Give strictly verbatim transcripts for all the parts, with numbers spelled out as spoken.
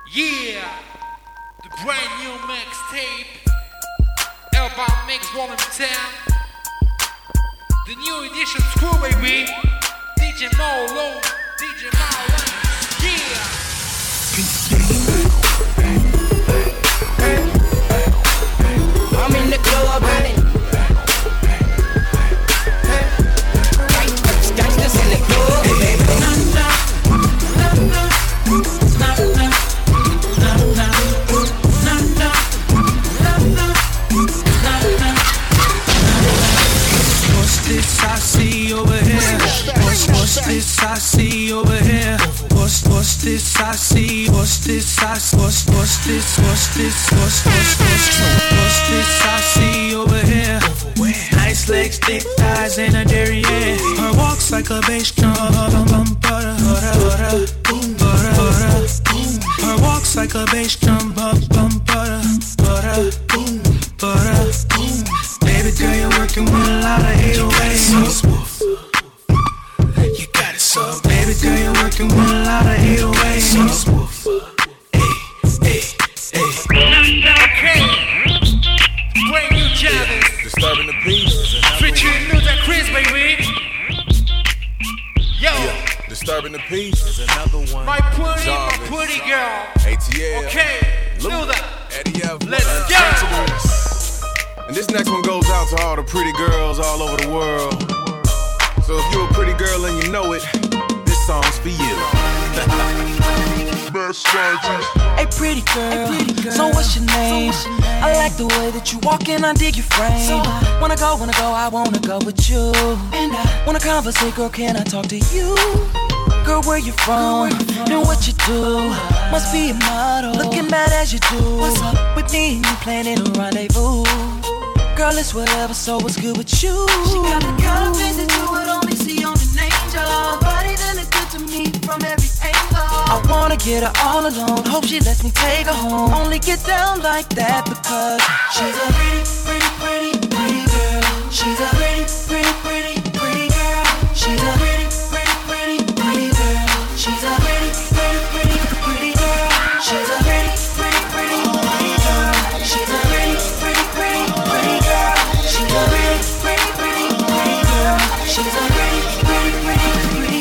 Yeah, the brand new mixtape, Album Mix Volume ten, the new edition Screw Baby, D J Molo, D J Molo, yeah. I'm in the club, honey. Gangsters in the club, baby. What's this I see over here? What's, what's this I see over here? What's, what's this I see? What's this I see? What's, what's this? What's this? What's, what's, what's, what's this I see over here? Nice legs, thick thighs, and a derriere. Her walks like a bass drum. Bum, butter, butter, butter, boom, butter, butter, boom. Her walks like a bass drum. Bum, bum, butter, butter, boom, butter, boom. Baby girl, you're working with a lot of eight oh eight. You got it so smooth. You got it so. Baby girl, you're working with a lot of eight oh eight. So smooth. Hey, hey, hey. Okay, brand new challenge, Disturbing the peace. featuring Luther Chris, baby. Yo, Yeah. Disturbing the peace is another one. my pretty, my Jarvis. pretty girl. A T L. Okay, Luther, Eddie F. let's go. Untouchables. And this next one goes out to all the pretty girls all over the world. So if you're a pretty girl and you know it, this song's for you. Hey pretty girl, so what's your name? I like the way that you walk and I dig your frame. Wanna go, wanna go, I wanna go with you. Wanna conversate, girl, can I talk to you? Girl, where you from? And what you do? Must be a model, looking bad as you do. What's up with me and you planning a rendezvous? Girl, it's whatever, so what's good with you? She got the kind of things that you would only see on an angel. Body that look good to me from every angle. I wanna get her all alone, hope she lets me take her home. Only get down like that because she's a pretty, pretty, pretty, pretty girl. She's a pretty, pretty, pretty, pretty girl. She's a pretty, pretty, pretty, pretty girl. She's a pretty, pretty, pretty, pretty girl. She's a pretty, pretty, pretty, pretty girl. She's a pretty, pretty, pretty, pretty girl. She's a pretty, pretty, pretty, pretty girl. She's a pretty, pretty, pretty, pretty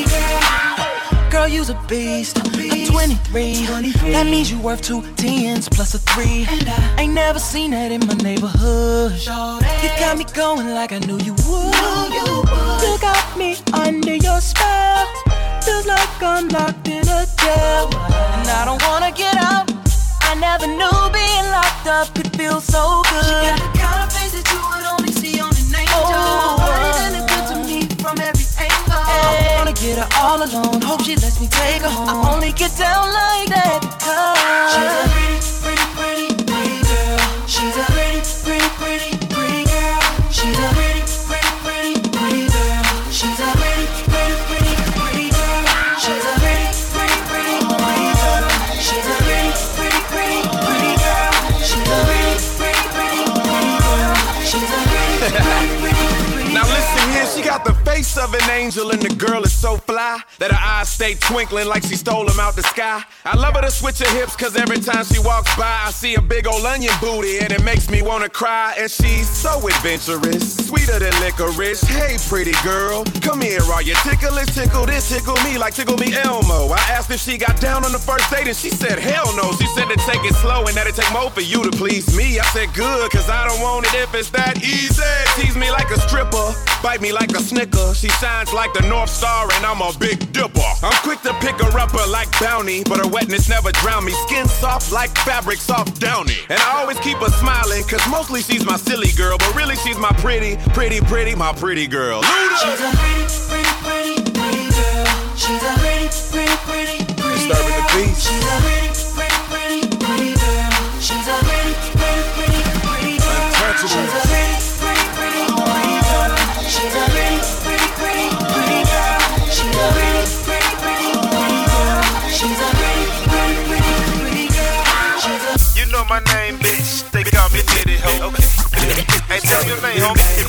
girl. Girl, you's a beast. I'm twenty-three. That means you worth two tens plus a three. Ain't never seen that in my neighborhood. You got me going like I knew you would. You got me under your spell. Feels like I'm locked in a jail, and I don't wanna get out. I never knew being locked up could feel so good. She got the kind of face that you would only see on an angel. Oh, really good to me from every angle. I wanna get her all alone, hope she lets me take her home. I only get down like that because she's a pretty, pretty, pretty, pretty girl. She's a pretty, pretty, pretty, pretty girl. She's a pretty, pretty, pretty, pretty girl. She's a pretty, pretty, pretty, pretty girl. She's a pretty, pretty, pretty, pretty girl. She's a pretty, pretty, pretty, pretty girl. She's a pretty, pretty, pretty, pretty girl. She's a pretty, pretty, pretty, pretty. Now listen here, she got the face of an angel and the girl is so fly that her eyes stay twinkling like she stole them out the sky. I love her to switch her hips cause every time she walks by I see a big old onion booty and it makes me wanna cry. And she's so adventurous, sweeter than licorice. Hey pretty girl, come here, are you ticklish? Tickle this, tickle me like tickle me Elmo. I asked if she got down on the first date and she said hell no. She said to take it slow and that it take more for you to please me. I said good cause I don't want it if it's that easy. Tease me like a stripper, bite me like a snicker. She shines like the North Star and I'm a big dipper. I'm quick to pick her up her like Bounty, but her wetness never drown me. Skin soft like fabric, soft downy. And I always keep her smiling, cause mostly she's my silly girl, but really she's my pretty, pretty, pretty, my pretty girl. Luda! She's a pretty, pretty, pretty, pretty girl. She's a pretty, pretty, pretty, pretty girl. Disturbing the peace. She's a pretty, pretty, pretty, pretty girl. She's a pretty, pretty, pretty, pretty girl. Untouchables. She's a pretty, pretty, pretty, pretty girl. She's a pretty, pretty, pretty, pretty girl. She's a pretty, pretty, pretty, pretty girl. She's a pretty, pretty, pretty, pretty girl. She's a. You know my name, bitch. They call me Nitty Ho. Okay. Hey, tell your name,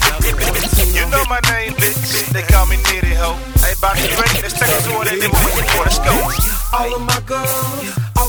homie. You know my name, bitch. They call me Nitty Ho. Hey, about to drink. Let's take it to what they did before. Let's go. All of my girls, off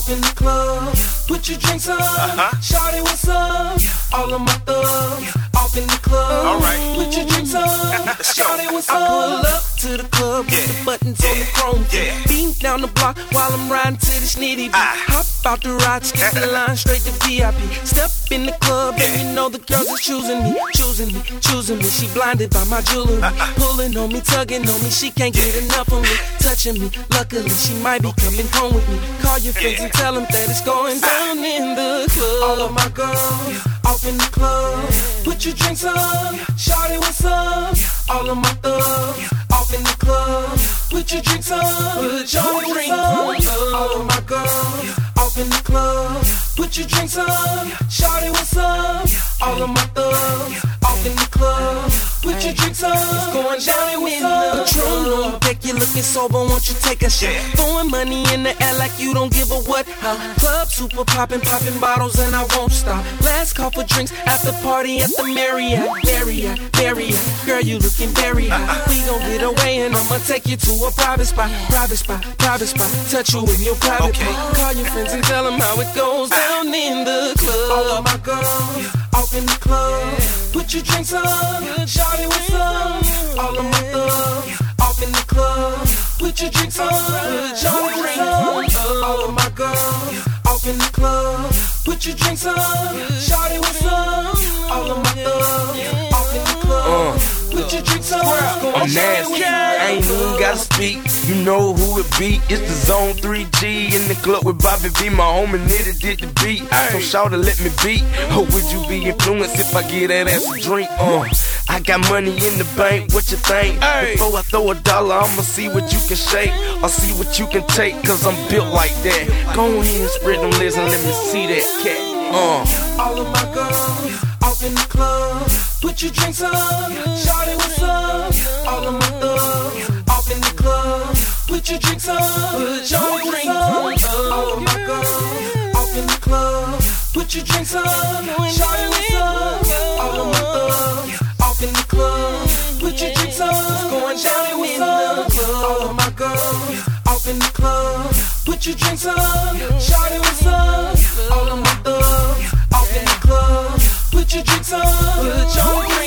in the club. Put your drinks up. Uh-huh. Shawty, what's up? All of my thugs off in the club. All right. Put your drinks up. Shawty, what's up? I pull up to the club with Yeah. the buttons Yeah. on the chrome. Yeah. Beam down the block while I'm riding to the snitty beat. Ah. Hop out the ride, skip the line straight to V I P. Step in the club and Yeah. you know the girls is choosing me, choosing me, choosing me. She blinded by my jewelry, Uh-uh. pulling on me, tugging on me. She can't get enough of me, touching me. Luckily, she might be coming home with me. Call your friends Yeah. and tell them that it's going down in the club. All of my girls off in the club. Put your drinks up. Shawty, what's up? All of my thugs off in the club. Put your drinks up. Put your drinks up. All of my girls off in the club. Put your drinks up. Shawty, what's up? All of my thugs off in the club. Put your drinks up. It's going down in the Patron on deck. You looking sober, won't you take a shot? Throwing money in the air like you don't give a what. Huh? Club super popping, popping bottles and I won't stop. Last call for drinks after party at the Marriott, Marriott, Marriott. Girl, you looking very hot. We gon' get away and I'ma take you to a private spot, private spot, private spot. Touch you in your private Okay. part. Call your friends and tell them how it goes down in the club. All of my girls off in the club. Put your drinks up. Shawty, what's up? All of my thugs off in the club. Put your drinks up. Shawty, what's up? All of my girls off in the club. Put your drinks up. Shawty, what's up? All of my thugs off in the club. Put your drinks up. I'm nasty, I ain't even gotta speak. You know who it be, it's the Zone three G in the club with Bobby V. My homie Nitty did the beat, so shout to let me beat. Or would you be influenced if I get that ass a drink? Uh, I got money in the bank, what you think? Before I throw a dollar, I'ma see what you can shake, or see what you can take, cause I'm built like that. Go ahead and spread them legs and let me see that cat. Uh. All of my girls off in the club. Put your drinks up. Shawty, what's up? All of my thugs off in the club. Put your drinks up. Put your drinks up. All of my girls off in the club. Put your drinks up. Shawty, what's up? All of my thugs off in the club. Put your drinks up. It's going down in the club. All of my girls off in the club. Put your drinks up. Shawty, what's up? All of my thugs off in the club. Put your drinks up. Put your drinks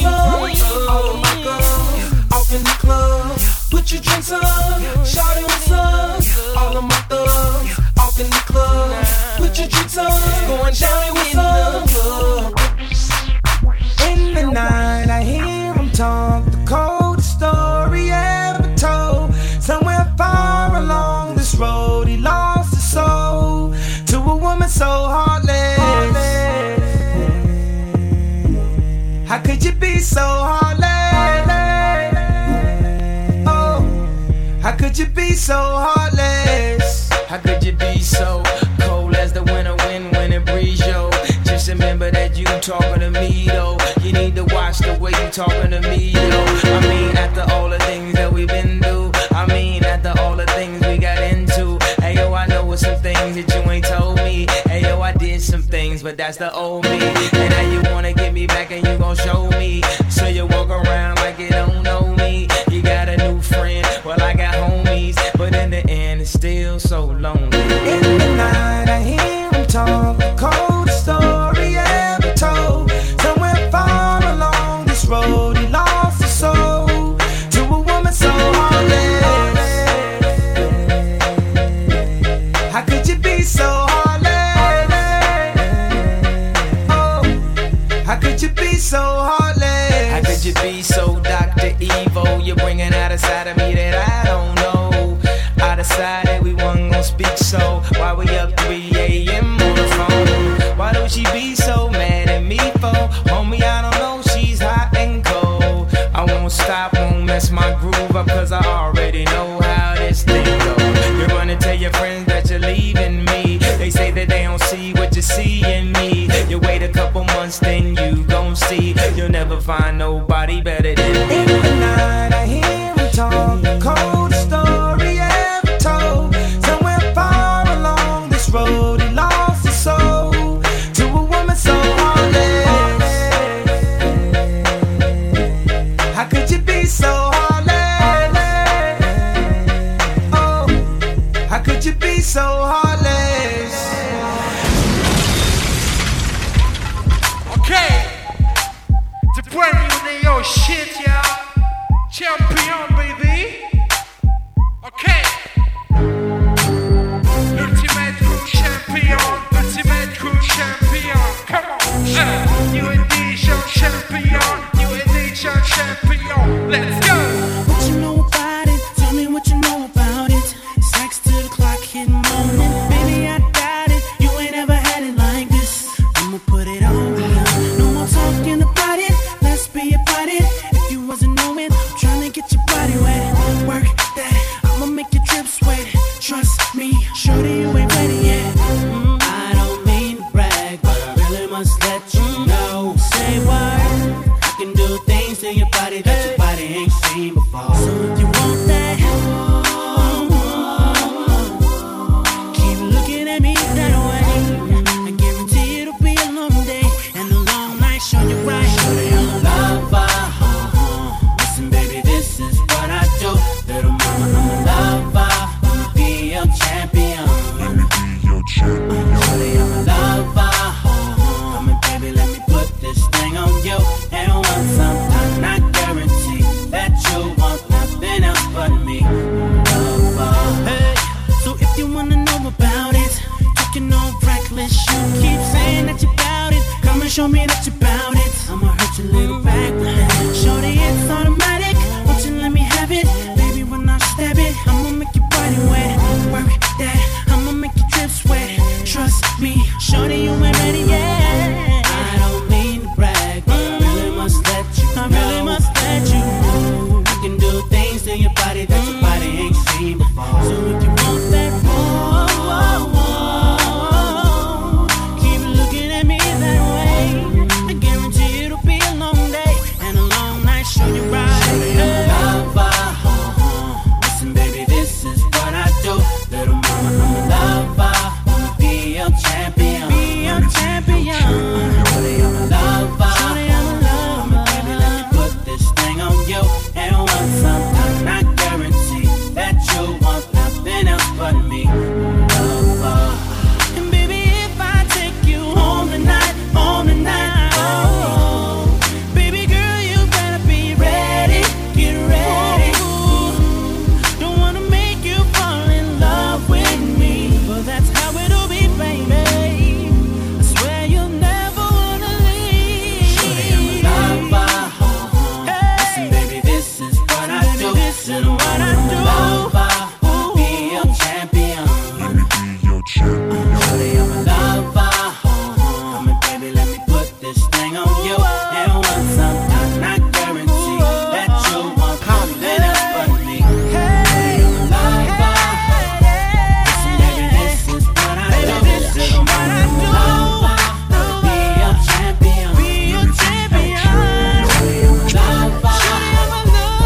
up. All of my girls off in the club. Put your drinks up. Shawty, what's up? All of my thugs off in the club. Put your drinks up. Going down in the club. In the night, I hear him talk the coldest story ever told. Somewhere far along this road, he lost his soul to a woman so heartless. How could you be so heartless? Oh, how could you be so heartless? How could you be so cold as the winter wind when it breeze, yo? Just remember that you talking to me, though. You need to watch the way you talking to me, yo. I mean, after all the things that we've been through, I mean, after all the things we got into. Hey, yo, I know some things that you ain't told me. Hey, yo, I did some things, but that's the old me. And now you wanna get me back and you gon' show me. So you walk around like you don't know me. You got a new friend, well, I got homies. But in the end, it's still so lonely. In the night, I hear him talk the coldest story ever told. Somewhere far along this road, he lost his soul to a woman so heartless. How could you be so heartless? Oh, how could you be so heartless? How could you be so Doctor Evil? You're bringing out a side of me that I don't know. I decided we wasn't gonna speak, so why we up three a.m. on the phone? Why don't she be so mad at me for? Homie, I don't know, she's hot and cold. I won't stop, won't mess my groove up, cause I already know how this thing goes. You're gonna tell your friends that you're leaving me. They say that they don't see what you see in me. You wait a couple months, then you gon' see. You'll never find nobody better than me. In the night, I hear him talk the coldest story ever told. Somewhere far along this road, he lost his soul to a woman so heartless. How could you be so heartless? Oh, how could you be so heartless? shit, yeah. Champion, baby. Okay. Ultimate Crew Champion. Ultimate Crew Champion. Come on. Uh, new edition champion. New edition champion. Let's go. What you know about it? Tell me what you know about it. Sex till the clock hit morning. Baby, I got it. You ain't ever had it like this. I'ma put it on you. No more talking about it. Let's be about it. If you wasn't knowing, I'm trying to get your body wet. Work that. I'ma make your drip sweat. Trust me, shorty, you ain't ready yet. Mm, I don't mean to brag, but I really must let you know. Say what? I can do things to your body that your body ain't seen before. So if you want that, keep looking at me that way. I guarantee it'll be a long day and a long night. Show you right. Shorty, I'm a lover. Listen, baby, this is what I do. Little mama, I'm a lover. Let me be your champion. Let me be your champion. Shorty, I'm a lover. Come and baby, let me put this thing on you. And once I'm done, I guarantee that you want nothing else but me. Lover. Hey, so if you wanna know about it, talking all reckless, you keep saying that you bout it. Come and show me that you bout it. I'ma hurt your little back with that. Shorty, it's automatic. Won't you let me have it? Baby, when I stab it, I'ma make your body wet. Work that, I'ma make your drip sweat. Trust me, shorty, you ain't ready yet. I don't mean to brag, but I really must let you know. I really must let you know. I can do things to your body that your body ain't seen before. So if you want that, whoa, whoa, whoa, keep looking at me that way. I guarantee it'll be a long day and a long night. Show you right. Shorty, I'm a lover. Listen, baby, this is what I do. Little mama, I'm a lover. Let me be your champion. Be your champion. Shorty, I'm a lover. Shorty, I'm a lover. Baby, let me put this thing on you. And once I'm done, I guarantee that you want nothing else but me. Lover. And baby, if I take you home tonight, home tonight, oh, baby girl, you better be ready. Get ready. Don't wanna make you fall in love with me, but that's how it'll be, baby. I swear you'll never wanna leave. Shorty, I'm a lover. Listen, baby, this is what I do. This is what I do. Lover, be your champion. Let me be your champion. Shorty, I'm a lover. Come and baby, let me put this thing on you. And once I'm done, I guarantee that you want nothing else but me. Shorty, I'm a lover. Listen, baby, this is what I do. This is what I do. Lover, be your champion. Be your champion. Shorty, I'm a lover. Shorty, I'm a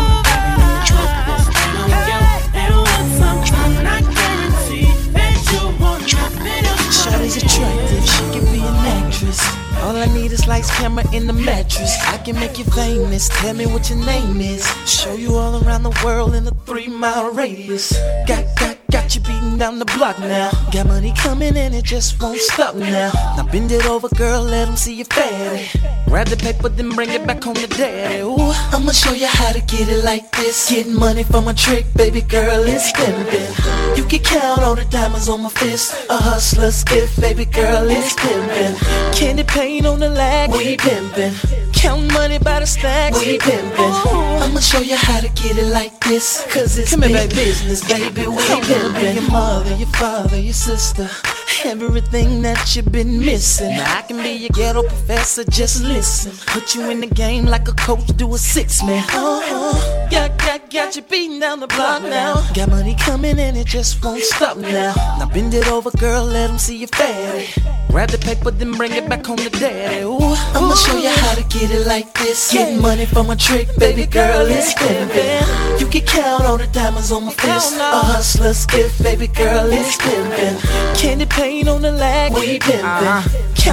lover. This thing on you. And once I'm done, I guarantee that you want nothing else but me. Shawty's attractive, she can be an actress. All I need is lights, camera, in the mattress. I can make you famous, tell me what your name is. Show you all around the world in a three mile radius. Got, got, got you beating down the block now. Got money coming and it just won't stop now. Now bend it over, girl, let them see you fatty. Grab the paper, then bring it back home to daddy. Ooh, I'ma show you how to get it like this. Getting money from a trick, baby girl, it's pimpin'. You can count all the diamonds on my fist. A hustler's gift, baby girl, it's pimpin'. Candy paint on the lag, we pimpin'. Count money by the stacks, we pimpin'. I'ma show you how to get it like this, cause it's big here, business, baby, we pimpin'. Your mother, your father, your sister, everything that you've been missing. Now I can be your ghetto professor, just listen. Put you in the game like a coach, do a six man. Uh-huh. Got, got, got you beating down the block now. Got money coming and it just won't stop now. Now bend it over, girl, let them see you fatty. Grab the paper, then bring it back home to daddy. Ooh, I'ma show you how to get it like this. Getting money from a trick, baby girl, it's pimpin'. You can count all the diamonds on my fist. A hustler's gift, baby girl, it's pimpin'. Candy paint on the lag, we pimpin'. Count money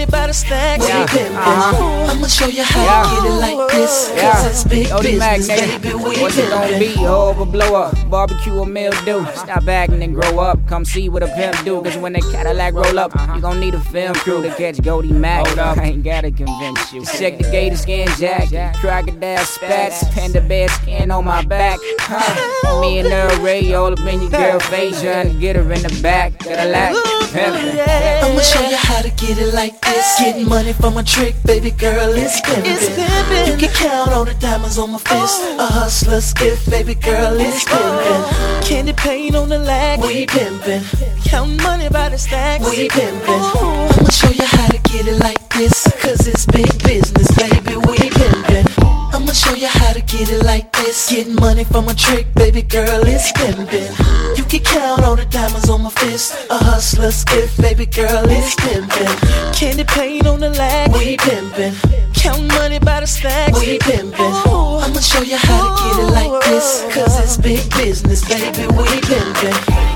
money by the stack. Yeah. Uh-huh. I'ma show you how Yeah. to get it like this. Cause Yeah. it's big Odie Mac, business, nigga. baby. We What's it gonna be? Hoe or blow up? Barbecue or mildew? Stop acting and grow up. Come see what a pimp do. Cause when the Cadillac roll up, you gon' need a film crew to catch Goldie Mac. I ain't gotta convince you. Check the gator skin jacket, crocodile spats, panda bear skin on my back. Huh. Me and Earl Ray all up in your girl face, trying to get her in the back. Gotta lack pimpin'. I'ma show you how to get it like this. Getting money from a trick, baby girl, it's pimpin'. You can count on the diamonds on my fist. A hustler's gift, baby girl, it's pimpin'. Candy paint on the lag, we pimpin'. Count money by the stacks, we pimpin'. I'ma show you how to get it like this. Cause it's big business, baby, we pimpin'. I'ma show you how to get it like this. Getting money from a trick, baby girl, it's pimpin'. You can count on the diamonds on my fist. A hustler's gift, baby girl, it's pimpin'. Candy paint on the lag, we pimpin'. Count money by the stacks, we pimpin'. I'ma show you how to get it like this. Cause it's big business, baby, we pimpin'.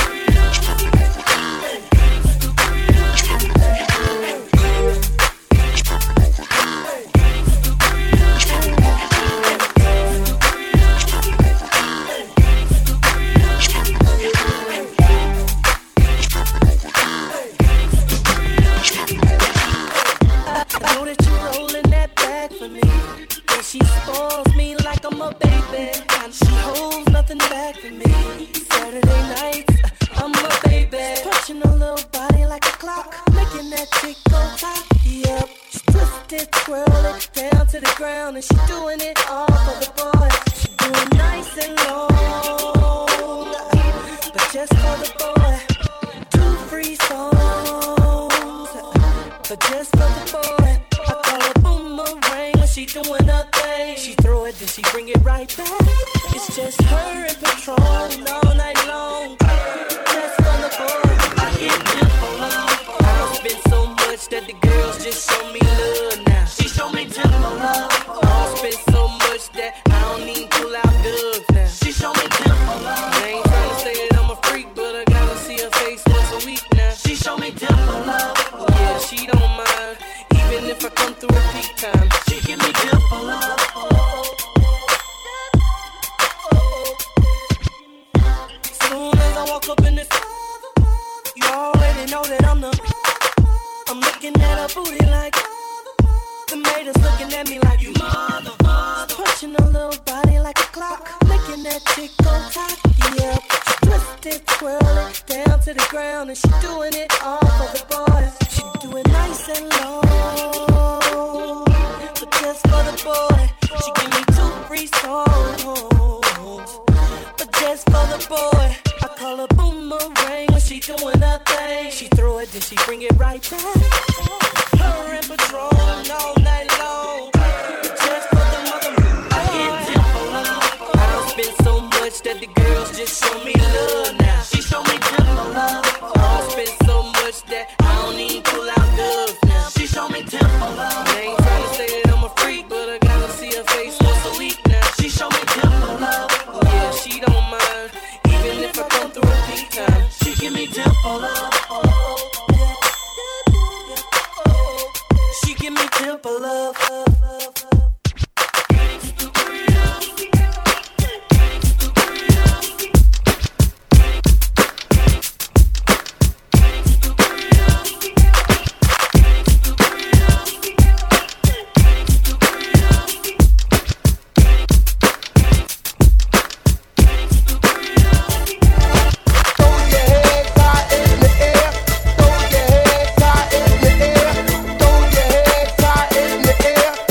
She spoils me like I'm a baby, and she holds nothing back from me. Saturday nights, I'm a baby, punching a little body like a clock, making that chick go top. Yep, she twisted, twirl it down to the ground, and she doing it all for the boy. She doing nice and long, but just for the boy. Two free songs, but just for the boy. I call her boomerang when she doing her thing. She throw it, then she bring it right back. It's just her and Patron all night long. Just for the boy, I hit them for love. I don't spend so much that the girls just show me love now. She show me tempo love. I don't spend so much that I don't even pull out dubs now. She show me tempo love. I ain't trying to say that I'm a freak, but I gotta see her face once a week now. She show me tempo love. Yeah, she don't mind. Even if I come through a peak time, she give me tip for love. Soon as I walk up in this, you already know that I'm the. I'm looking at her booty like the maid's looking at me like you mother, mother. Punching a little body like a clock, making that chick go top. Yep, she twisted, twirl it down to the ground, and she doing it all for the boys. She do it nice and low, but just for the boy. She give me two free songs, but just for the boy. I call her boomerang when she doing her thing. She throw it, then she bring it right back. Her and Patron all night long, but just for the mother. I hit tempo love. I don't spend so much that the girls just show me love now. She show me tempo love. I don't spend so much that I don't even pull out dubs now. She show me tempo love. I ain't trying to say that I'm a freak, but I gotta see her face once a week now. She show me tempo love. Yeah, she don't mind. Even if I come through a peak time, she give me tempo love. She give me tempo love. Throw your head high in the air.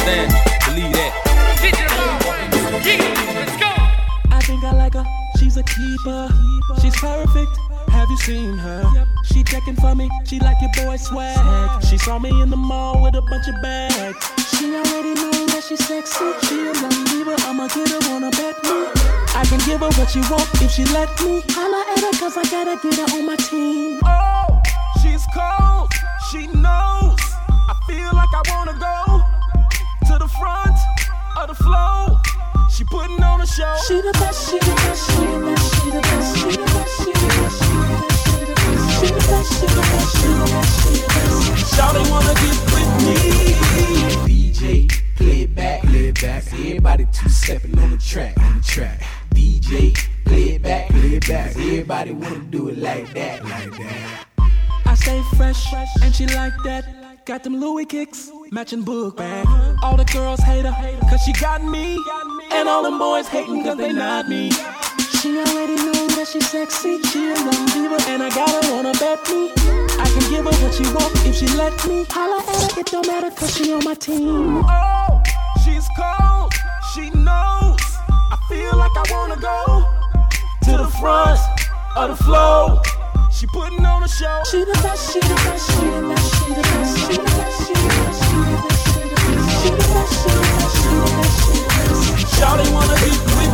saying? Believe that. Let's go. I think I like her. She's a keeper. She's perfect. Have you seen her? She checking for me. She like your boy swag. She saw me in the mall with a bunch of bags. She already know that she's sexy. She a young diva. I'ma get her, wanna bet me. I can give her what she want if she let me. Holla at her cause I gotta get her on my team. Oh, she's cold. She knows. I feel like I wanna go to the front of the flow. She putting on a show. She the best, she the best, she the best, she the best, she the best, she the best, she the best, she the best, she the best, she the best, she the best. Shawty wanna get with me. D J, play it back, play it back. Everybody two-stepping on the track, on the track. D J, play it back, play it back. Everybody wanna do it like that, like that. I stay fresh, and she like that. Got them Louis kicks, matching book bag. All the girls hate her, cause she got me. And all them boys hating cause they not me. She already knew that she's sexy. She a young diva, and I got her wanna bet me. I can give her what she want if she let me. Holla at her, it don't matter cause she on my team. Oh, she's cold, she knows. I feel like I wanna go to the front of the flow. She putting on a show. She the best, she the best, she the best, she the best, she the best, she the best, she the best, she the best, she the best, she the best, she the best, she the best. Shawty wanna be with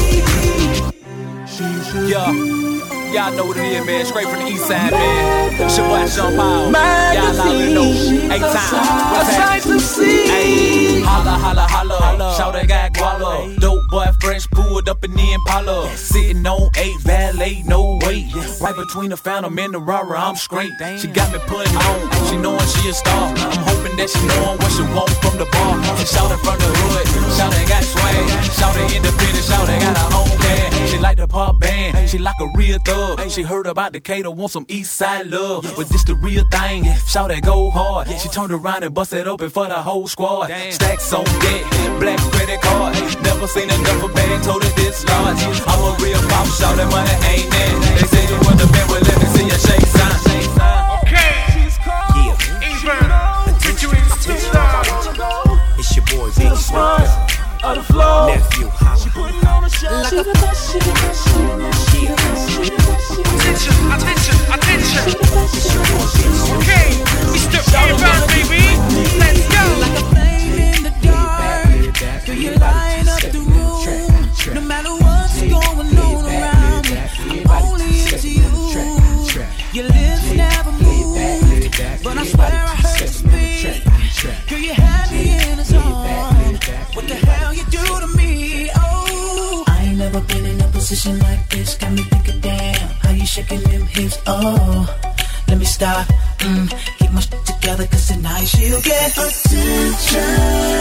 me. Yeah, y'all know what it is, man. Straight from the east side, man. It's your boy Sean Paul. Y'all already know. Eight times. A sight to see. Ay, holla, holla, holla. Shawty got guala. Dope boy fresh pulled up in the Impala. Sitting on eight, valet, no weight. Right between the Phantom and the Rara, I'm straight. She got me putting on. She knowing she a star. I'm hoping that she knowing what she want from the bar. She shouted from the hood. Shawty got swag. Shawty independent. Shawty got her own cash. She like the pop band. She like a real thug. She heard about Decatur, want some east side love. But this the real thing. Shawty go hard. She turned around and busted open for the whole squad. Stacks on deck. Black credit card. Never seen a duffel bag. Told her this large. I'm a real pop. Shawty money ain't that. They say you want the band. Well, let me see your shake sign. Okay. Yeah. Even. Featuring Superstar. It's your boy Big Smoke. Of the flow. Nephew, she putting on a show. Like she the best, she the best, she the best, she the best, she the best, she the best. Attention, attention, attention. Okay, Mister Ivan, baby. Let's go. Like a flame in the dark. Do you light up the room? No matter what's going on around me, I'm only into you. Your lips never move, but I swear I heard you speak. Girl, you had me in a zone. What the hell you do to me? Oh, I ain't never been in a position like this. Got me thinking, damn, how you shaking them hips? Oh, let me stop. Mm, keep my shit together, cause tonight she'll get attention.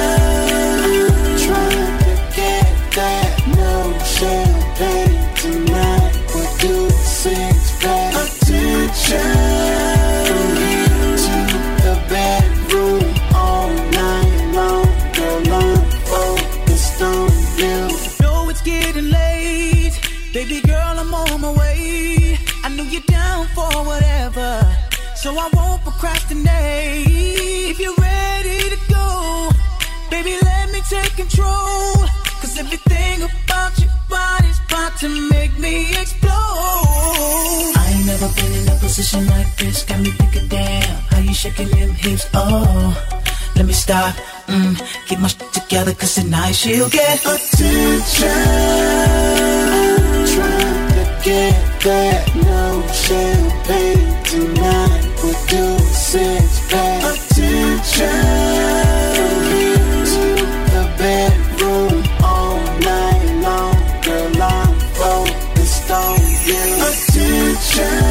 Trying to get that no champagne tonight. We'll do the six pack. Attention. From here to the bedroom all night long. Girl, I'm focused on you. Know it's getting late. Baby girl, I'm on my way. I know you're down for whatever, so I won't procrastinate. If you're ready to go, baby, let me take control. Cause everything about your body's about to make me explode. I ain't never been in a position like this. Got me thinking, damn, how you shaking them hips? Oh, let me stop. Mm, keep my shit together, cause tonight she'll get attention. Trying to get that no champagne tonight. We'll do a six pack. Attention. From here to the bedroom all night long. Girl, I'm focused on you. Attention.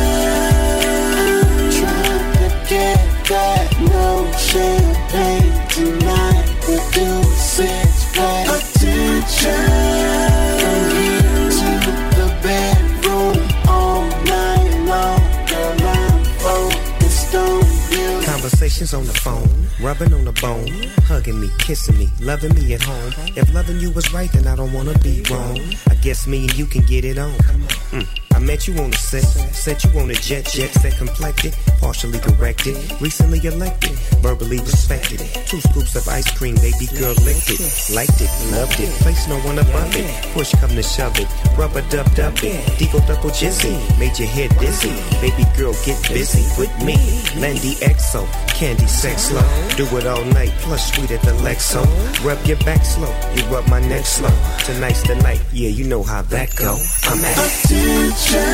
Trying to get that no champagne tonight. We'll do a six pack. Attention. From here to the bedroom all night long. Girl, I'm focused on you. Conversations on the phone, rubbing on the bone, hugging me, kissing me, loving me at home. If loving you was right, then I don't wanna be wrong. I guess me and you can get it on. Mm. I met you on the set, set you on a jet, jet set complected, partially corrected, recently elected, verbally respected. Two scoops of ice cream, baby girl licked it, liked it, loved it, place no one above it. Push come to shove it, rubber dub dub it, Deagle double jizzy, made your head dizzy. Baby girl get busy with me, Landy X O, candy sex slow, do it all night, plus sweet at the Lexo. Rub your back slow, you rub my neck slow. Tonight's the night, yeah, you know how that go. I'm at attention,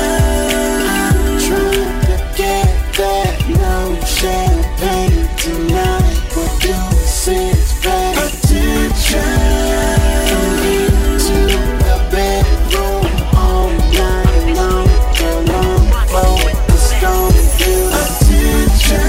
trying to get that no champagne tonight. What do we say is bad? Attention, to the bedroom all night long. Come on, flow, let's go to you. Attention,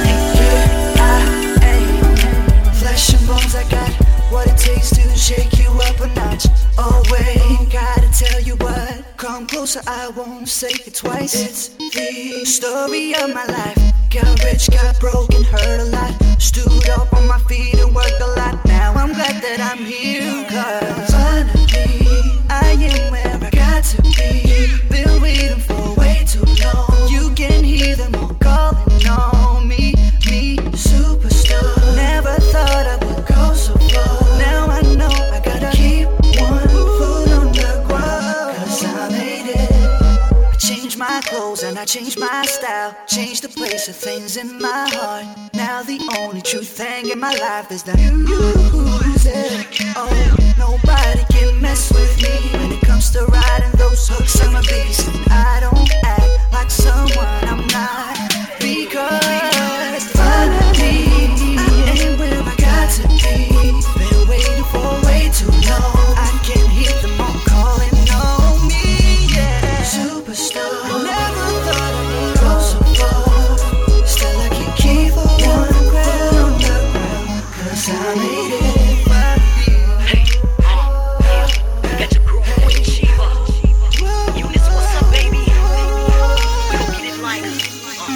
flesh and bones, I got what it takes to shake you up a notch. Oh wait, gotta tell you what. Come closer, I won't say it twice. It's the story of my life. Got rich, got broken, hurt a lot. Stood up on my feet and worked a lot. Now I'm glad that I'm here, cause finally I am where I got to be. Been waiting for way too long. You can hear them all calling on me, me, superstar. Never thought I would go so far. Now I know I gotta keep one foot on the ground, cause I made it. I changed my clothes and I changed my style. Changed the place of things in my heart. Now the only true thing in my life is that music. Oh, nobody can mess with me when it comes to riding those hooks on my beats. I don't act like someone I'm not, because finally I am where I got to be. Been waiting for way too long. I can hear them all calling on me, yeah. Superstar. Never thought I would go so far. Still I can keep one foot on the ground, cause I made it. Hey, uh, yeah, got your crew with Chiba. Eunice, what's up, baby? We gon' get it like uh.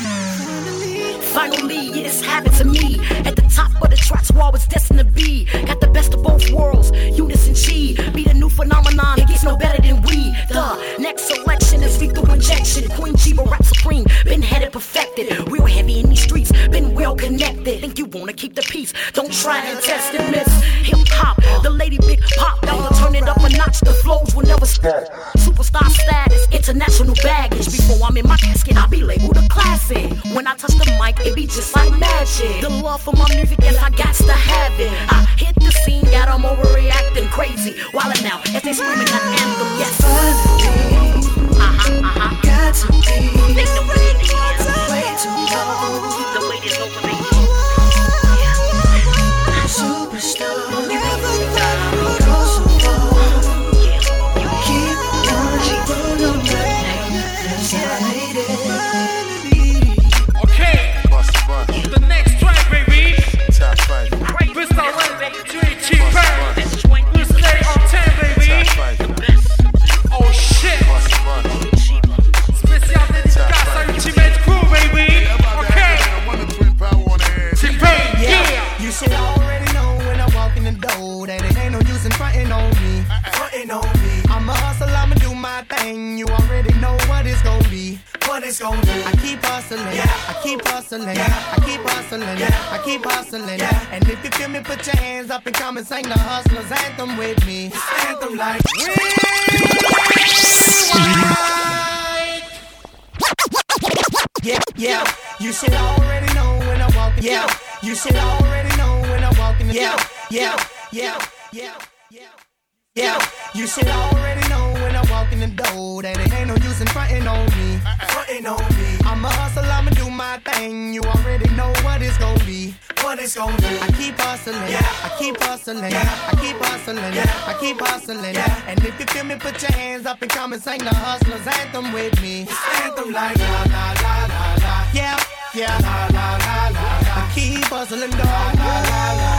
Finally, it's happened to me. At the top of the charts, where I was destined to be. Got the best of both worlds, Eunice and Chi. Be the new phenomenon, it gets no better than we. The next selection is lethal injection. Queen Chiba, rap supreme, been headed perfected. Real heavy in these streets, been well connected. Think you wanna keep the peace, don't try and test it, miss. Hip hop, the lady big pop, I'ma turn it up a notch. The flows will never stop. Superstar status, international baggage. Before I'm in my casket, I'll be labeled a classic. When I touch the mic, it be just like magic. The love for my music, yes, I got to have it. I hit the scene, got them overreacting crazy. Wildin' now, as they screaming that anthem, yes. Finally, uh-huh, uh-huh. Got to be. Think the wait is way too long. The wait is over, baby. Superstar. Never thought I would go so far. Keep on, keep on, cause I made it. Okay, the next track, baby. Crystal Red, three cheaper. We stay on ten, baby. Oh shit. Spécial dédicace à Ultimate Crew, baby. Okay. T-Pain, yeah. You should already know when I walk in the door that it ain't no use in frontin' on me. Frontin' on me. I'm a hustle, I'ma do my thing. You already know what it's gon' be. What it's gon' be. I keep hustling, yeah. I keep hustling, yeah. I keep hustling, yeah. I keep hustling, yeah. And if you feel me, put your hands up and come and sing the hustler's anthem with me. Anthem like yeah, yeah. You should already know when I walk in. Yeah. You should already know when I walk in the yeah. Yeah, yeah, yeah, yeah, yeah. You should already know when I walk in the door that it ain't no use in frontin' on me. Frontin' on me. I'm a hustle, I'ma do my thing. You already know what it's gon' be. What it's gon' be. I keep hustling, yeah. I keep hustling, yeah. I keep hustling, yeah. I keep hustling, yeah. And if you feel me, put your hands up and come and sing the hustler's anthem with me. It's anthem like la la la la la. Yeah, yeah. La la la la la. I keep hustling, dog. La la la la.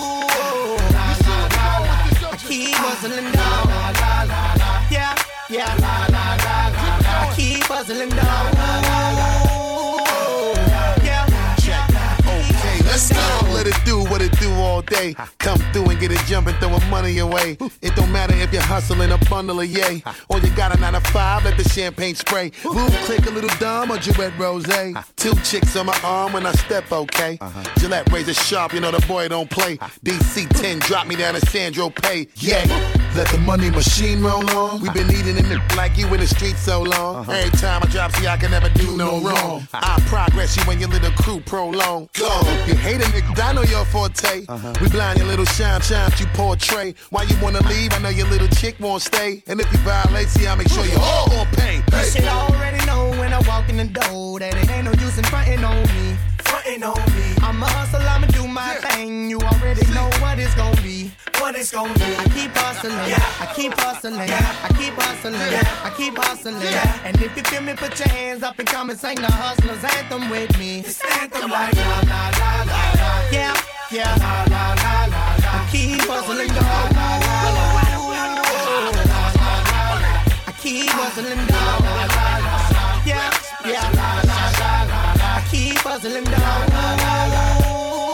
I keep hustling, dog. La la la la. Yeah, yeah. La la la la. I keep hustling, dog. La la la. Yeah. Let's go. Let it do what it do all day. Come through and get it jumping, throwing money away. It don't matter if you're hustling a bundle of yay. Or you got a nine to five, let the champagne spray. Boom, click a little dumb or Duet Rose. Two chicks on my arm when I step, okay. Gillette razor sharp, you know the boy don't play. D C ten, drop me down to Sandro Pay. Yeah, let the money machine roll on. We been eating in the like you in the street so long. Uh-huh. Every time I drop, see I can never do no wrong. I progress you when your little crew prolong. Go, you hate a nigga, I know your forte. Uh-huh. We blind your little shine, shine you portray. Why you wanna leave? I know your little chick won't stay. And if you violate, see I make sure you all gon' pay. You should already know when I walk in the door that it ain't no use in frontin' on me. Frontin' on me. I'm a hustle, I'ma do my yeah. thing. You already see. know what it's gon' be. What it's gon' be. I keep hustling, yeah. I keep hustling, yeah. I keep hustling, yeah. I keep hustling. Yeah. And if you feel me, put your hands up and come and sing the hustler's anthem with me. It's anthem like la la la la la. Yeah, yeah. La la la la la. I keep hustling, dog. La la la la la. I keep hustling, dog. La la la la. Yeah, yeah. La la la la. I keep hustling, dog. La la la la.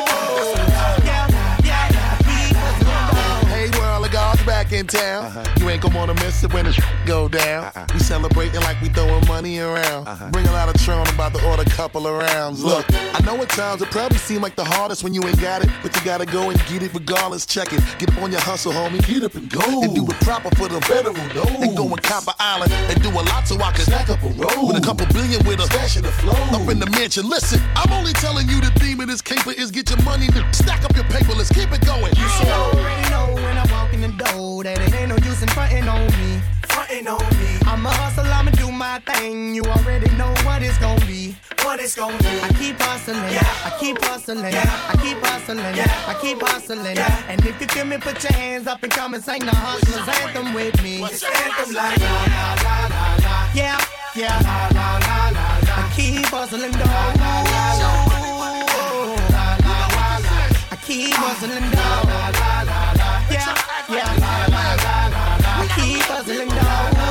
Back in town, uh-huh. You ain't gon' wanna miss it when the sh- go down. Uh-uh. We celebrating like we throwing money around. Uh-huh. Bring a lot of Tron, about to order a couple of rounds. Look, I know at times it probably seem like the hardest when you ain't got it, but you gotta go and get it regardless. Check it, get up on your hustle, homie. Get up and go and do it proper for the federal. No. And go and Copper Island and do a lot so I can stack up a roll with a couple billion with a stash in the flow up in the mansion. Listen, I'm only telling you the theme of this caper is get your money, stack up your paper. Let's keep it going. You should already know when I walk in the door that it ain't no use in frontin' on me. Frontin' on me. I'm a hustle, I'ma do my thing. You already know what it's gon' be. What it's gon' be. I keep hustling, yeah. I keep hustling, yeah. I keep hustling, yeah. I keep hustling, yeah. And if you feel me, put your hands up and come and sing the hustler's anthem with me. What's your anthem like? La la la la la. Yeah, yeah. La la la la la. I keep hustling, dog. La la la la. La la la la. I keep hustling, dog. La la la la. Yeah, yeah. La la la la. I keep hustling, dog.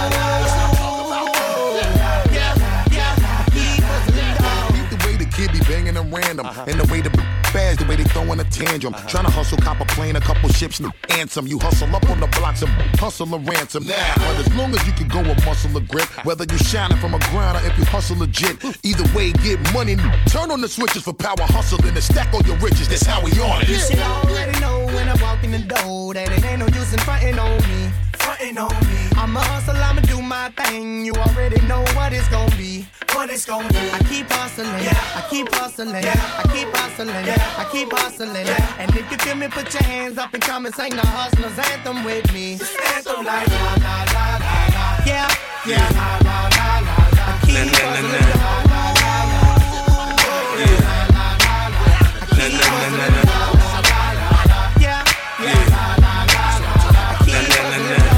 Kid be banging them random, uh-huh. And the way the fast, the way they throwing a tantrum, uh-huh. Trying to hustle, cop a plane, a couple ships, and answer. You hustle up on the blocks and hustle a ransom. Now, but as long as you can go with muscle or grip, whether you shining from a grind or if you hustle legit, either way, get money. Turn on the switches for power, hustle and stack all your riches. That's how we on it. You should already know when I walk in the door that it ain't no use in frontin' on me. Frontin' on me. I'm a hustle, I'ma do my thing. You already know what it's gon' be. What it's gon' be. I keep hustling, yeah. I keep hustling, yeah. I keep hustling, yeah. I keep hustling, yeah. And if you feel me, put your hands up and come and sing the hustler's anthem with me. It's anthem like la la la la la. Yeah, yeah. La la la la la. I keep hustling, la la la la la. Yeah, la la la la. I keep hustling, la la la la. Yeah, yeah. La la la la. I keep hustling, la la la la.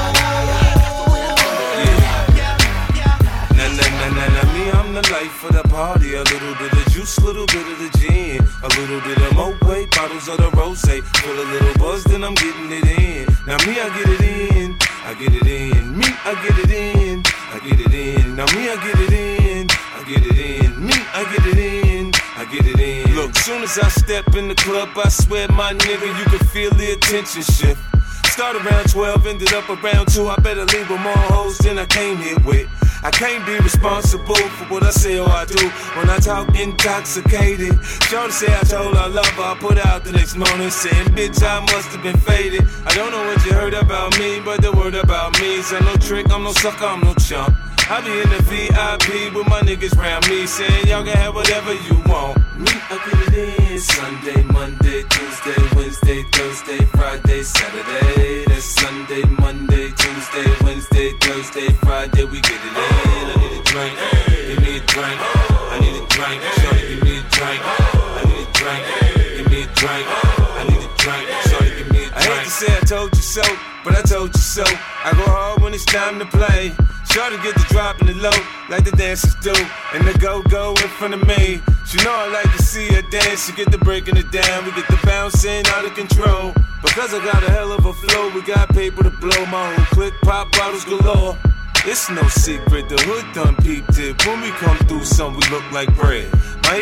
The life of the party, a little bit of juice, little bit of the gin, a little bit of Moet, bottles of the rosé, feel a little buzz, then I'm getting it in. Now me, I get it in, I get it in. Me, I get it in, I get it in. Now me, I get it in, I get it in. Me, I get it in, I get it in. Look, soon as I step in the club, I swear, my nigga, you can feel the attention shift. Start around twelve, ended up around two. I better leave with more hoes than I came here with. I can't be responsible for what I say or I do when I talk intoxicated. Shorty say I told her I love her, I put out the next morning saying, bitch, I must have been faded. I don't know what you heard about me, but the word about me is I'm no trick, I'm no sucker, I'm no chump. I be in the V I P with my niggas round me saying y'all can have whatever you want. Me, I get it in Sunday, Monday, Tuesday, Wednesday, Thursday, Friday, Saturday. That's Sunday, Monday, Tuesday, Wednesday, Thursday, Friday, we get it in. I need a drink, give me a drink. I need a drink, shorty, give me a drink. I need a drink, give me a drink. I need a drink, shorty, give me a drink. I hate to say I told you so, but I told you so. I go hard when it's time to play. Shorty get the drop in the low, like the dancers do, and the go-go in front of me. She know I like to see her dance, she get the breaking it down, we get the bouncing out of control. Because I got a hell of a flow, we got paper to blow, my whole click, pop bottles galore. It's no secret, the hood done peeped it. When we come through, some we look like bread. My eighty-nine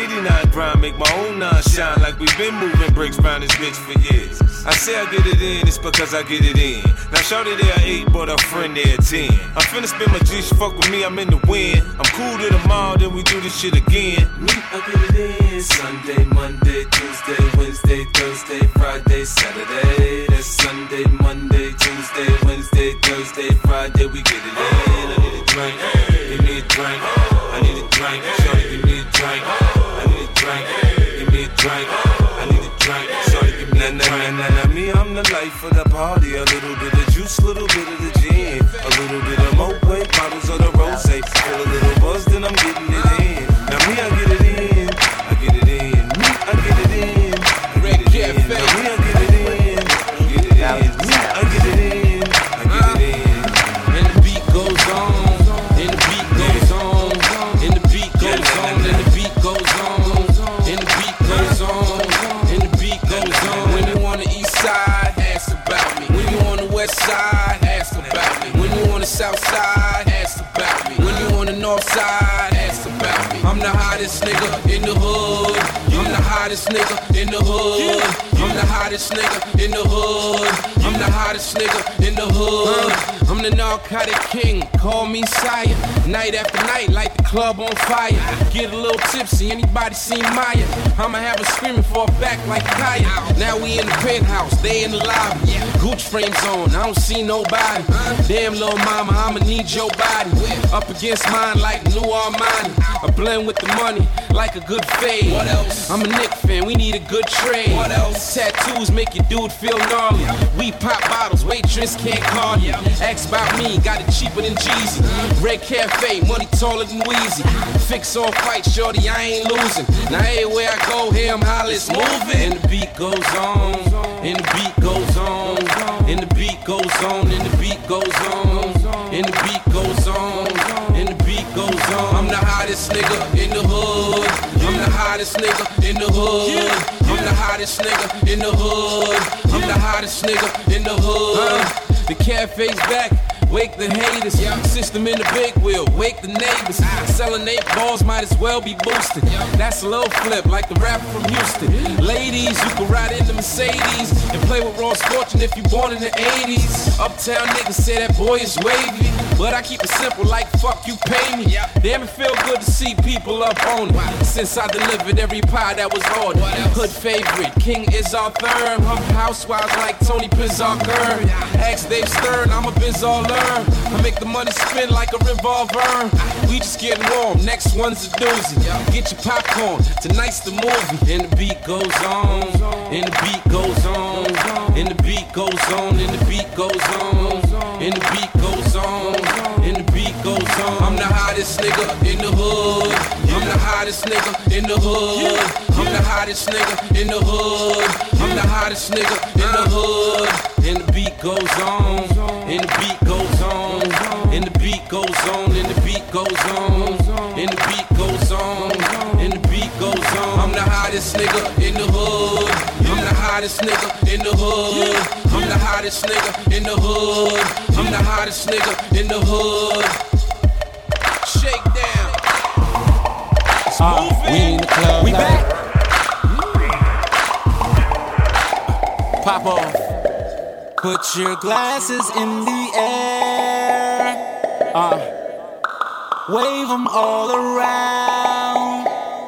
grind, make my own nine shine like we've been moving bricks round this bitch for years. I say I get it in, it's because I get it in. Now shorty there eight, but her friend there ten. I'm finna spend my G, she fuck with me, I'm in the wind. I'm cool to the mall, then we do this shit again. Me, I get it in. Sunday, Monday, Tuesday, Wednesday, Thursday, Friday, Saturday. That's Sunday, Monday, Tuesday, Wednesday, Thursday, Friday, we get it in. I need a drink, give me a drink. I need a drink, shorty, give me a drink. I need a drink, give me a drink. I need a drink, shorty, give me a drink. Nah, nah, nah, me, I'm the life of the party. A little bit of juice, little bit of the gin. A little bit of Moet, bottles of the rosé. Feel a little buzz, then I'm getting it in. Now me, I get it in. I get it in. Me, I get it in. I get it in. Now me, I get it in. I get it in. Me, I get it in. I get it in. And the beat goes on. And the beat goes on. And the beat goes on. And the beat goes on. And the beat goes on. And the beat goes on. When you on the east side, ask about me. When you on the west side, ask about me. When you on the south side, ask about me. When you on the north side, ask about me. I'm the hottest nigga in the hood. I'm the hottest nigga in the hood. I'm the hottest nigga in the hood. I'm the hottest nigga in the hood. I'm the narcotic king, call me sire. Night after night, light the club on fire. Get a little tipsy, anybody seen Maya? I'ma have her screaming for a back like Kaya. Now we in the penthouse, they in the lobby. Gooch frames on, I don't see nobody. Damn little mama, I'ma need your body. Up against mine like New Armani. I blend with the money like a good fade. What else? I'm a Knick fan, we need a good trade. What else? Tattoos make your dude feel gnarly. We pop bottles, waitress can't call you. Ask about me, got it cheaper than Jeezy. Red Cafe, money taller than Weezy. Fix all fight, shorty, I ain't losing. Now everywhere I go, here I'm holla, it's moving. And the beat goes on, and the beat goes on, and the beat goes on, and the beat goes on, and the beat goes on, and the beat goes on. I'm the hottest nigga in the hood. I'm the hottest nigga in the hood. I'm the hottest nigga in the hood. I'm the hottest nigga in the hood. The cafe's back, wake the haters. System in the big wheel, wake the neighbors. Selling eight balls might as well be boosted. That's a little flip, like the rapper from Houston. Ladies, you can ride in the Mercedes and play with Ross Fortune if you born in the eighties. Uptown niggas say that boy is wavy, but I keep it simple like fuck you pay me. Damn, it feel good to see people up on it. Since I delivered every pie that was ordered. Hood favorite, King is our third. Housewives like Tony Pizzarker. Ask Dave Stern, I'm a biz all learn. I make the money spin like a revolver. We just getting warm, next one's a doozy. Get your popcorn, tonight's the movie. And the beat goes on, and the beat goes on, and the beat goes on, and the beat goes on, and the beat goes on, and the beat goes on. I'm the hottest nigga in the hood. I'm the hottest nigga in the hood. I'm the hottest nigga in the hood. I'm the hottest nigga in the hood. And the beat goes on, and the beat goes on, and the beat goes on, and the beat goes on, and the beat goes on, and the beat goes on. I'm the hottest nigga in the hood. I'm the hottest nigga in the hood. I'm the hottest nigga in the hood. I'm the hottest nigga in the hood. Shake down. It's uh, moving. We in the club. We like back. Pop off. Put your glasses in the air. Uh, wave them all around.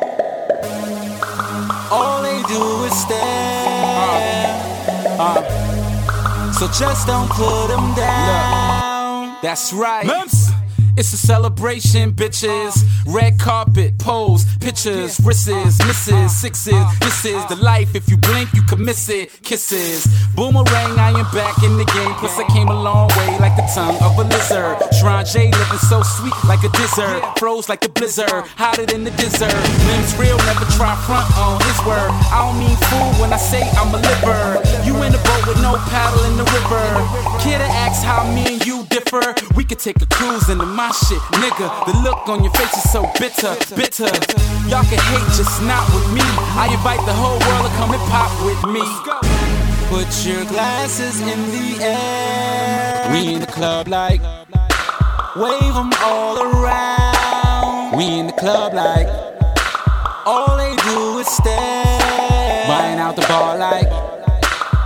All they do is stare. Uh, uh, so just don't put them down. Look, that's right. Mumps. It's a celebration, bitches. Red carpet, pose, pictures, wrists, misses, sixes. This is the life. If you blink, you can miss it. Kisses. Boomerang, I am back in the game. Plus, I came a long way like the tongue of a lizard. Shrine J living so sweet like a dessert. Froze like a blizzard, hotter than the desert. Limbs real, never try front on his word. I don't mean fool when I say I'm a liver. You in a boat with no paddle in the river. Kid asks how me and you differ. We could take a cruise into my shit, nigga. The look on your face is so bitter, bitter. Y'all can hate, just not with me. I invite the whole world to come and pop with me. Put your glasses in the air. We in the club like wave them all around. We in the club like all they do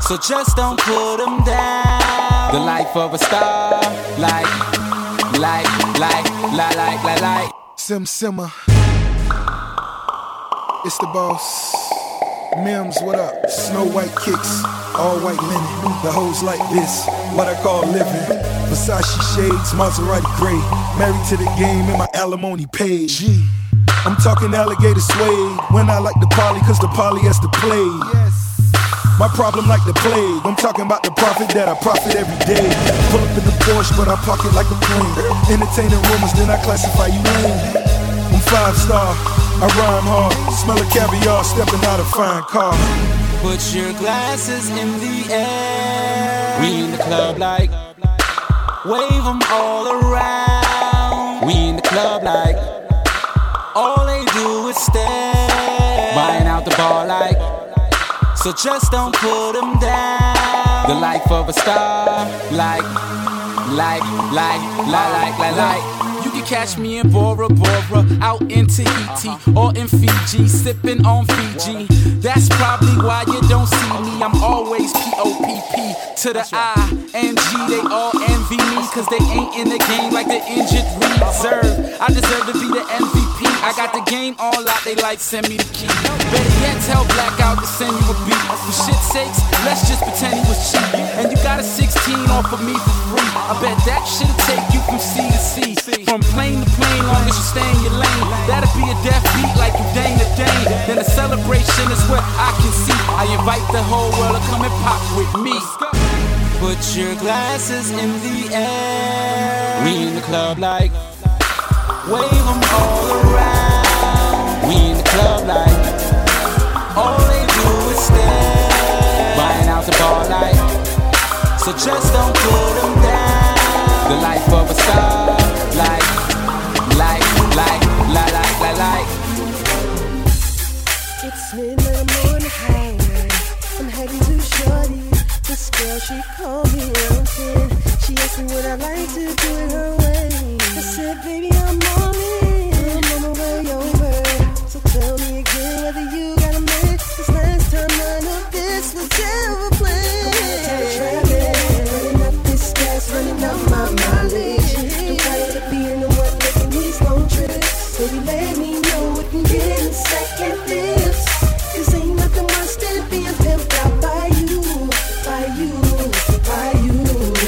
so just don't put them down. The life of a star, like, like, like, like, like, like, like. Sim Simmer. It's the boss. Mims, what up? Snow white kicks, all white linen. The hoes like this, what I call living. Versace shades, Maserati gray. Married to the game and my alimony paid. G. I'm talking alligator suede. When I like the poly, cause the poly has to play. My problem like the plague. I'm talking about the profit that I profit every day. Pull up in the Porsche, but I park it like a plane. Entertaining rumors, then I classify you lame. I'm five star, I rhyme hard. Smell of caviar, stepping out a fine car. Put your glasses in the air. We in the club like, wave them all around. We in the club like, all they do is stare. Buying out the bar like, so just don't put them down. The life of a star, like, like, like, like, like, like, like. You can catch me in Bora Bora, out in Tahiti or in Fiji, sipping on Fiji. That's probably why you don't see me. I'm always P O P P to the I N G. They all envy me, cause they ain't in the game like the injured reserve. I deserve to be the M V P. I got the game all out, they like send me the key. Better yet, tell Blackout to send you a beat. For shit's sakes, let's just pretend he was cheap. And you got a sixteen off of me for free. I bet that shit'll take you from C to C. From plane to plane, long as you stay in your lane. That'll be a death beat like you dang to dang. Then a celebration is what I can see. I invite the whole world to come and pop with me. Put your glasses in the air. We in the club like, wave them all around. We in the club like, all they do is stare. Buying out the bar like, so just don't put them down. The life of a star, like, like, like, like, like, like, like. It's midnight, I'm on the highway. I'm heading to Shorty. This girl, she called me around ten. She asked me would I like to do it her way. I said, baby, I'm on it. I'm on my way over. So tell me again whether you got a man. This last time none of this was ever planned. Running up this gas, running up my mileage. I'm tired of being the one making these long trips. Baby, let me know what can get in second dips. Cause ain't nothing worse than being pimped out by you, by you, by you.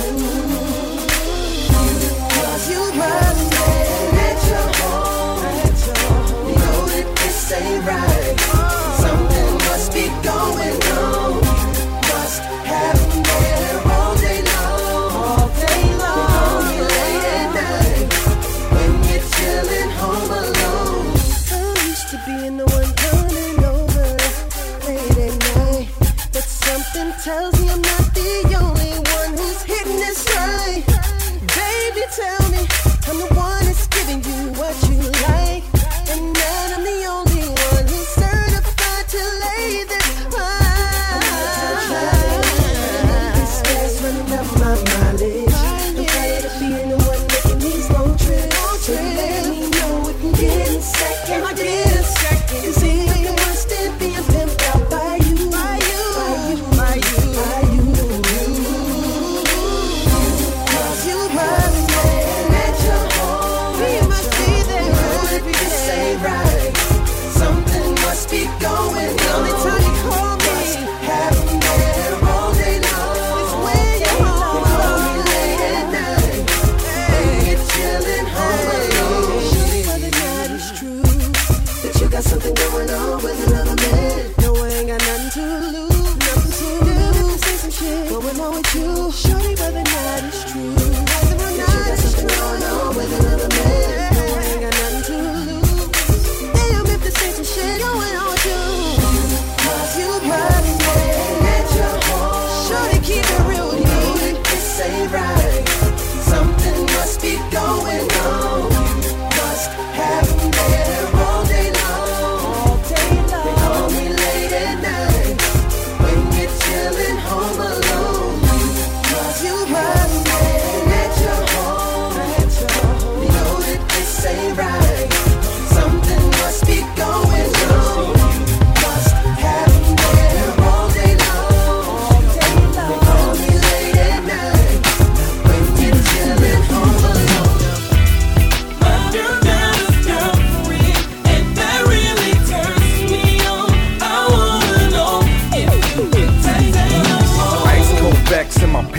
Cause you run man at your home. You know that this ain't right. Something must be going on. Must have been there all day long, all day long. You late at night when you're chilling home alone. I'm used to being the one coming over late at night, but something tells me I'm not the only one who's hitting this right. Baby, tell me I'm the one that's giving you what you like, and that I'm the only one who's certified to lay this right. This gas running up my mileage. I'm tired of being the one making these long trips. So let me know what can get in second. I get a second. Cause ain't nothing worse than being pimped out by you, by you, by you, by you, by you.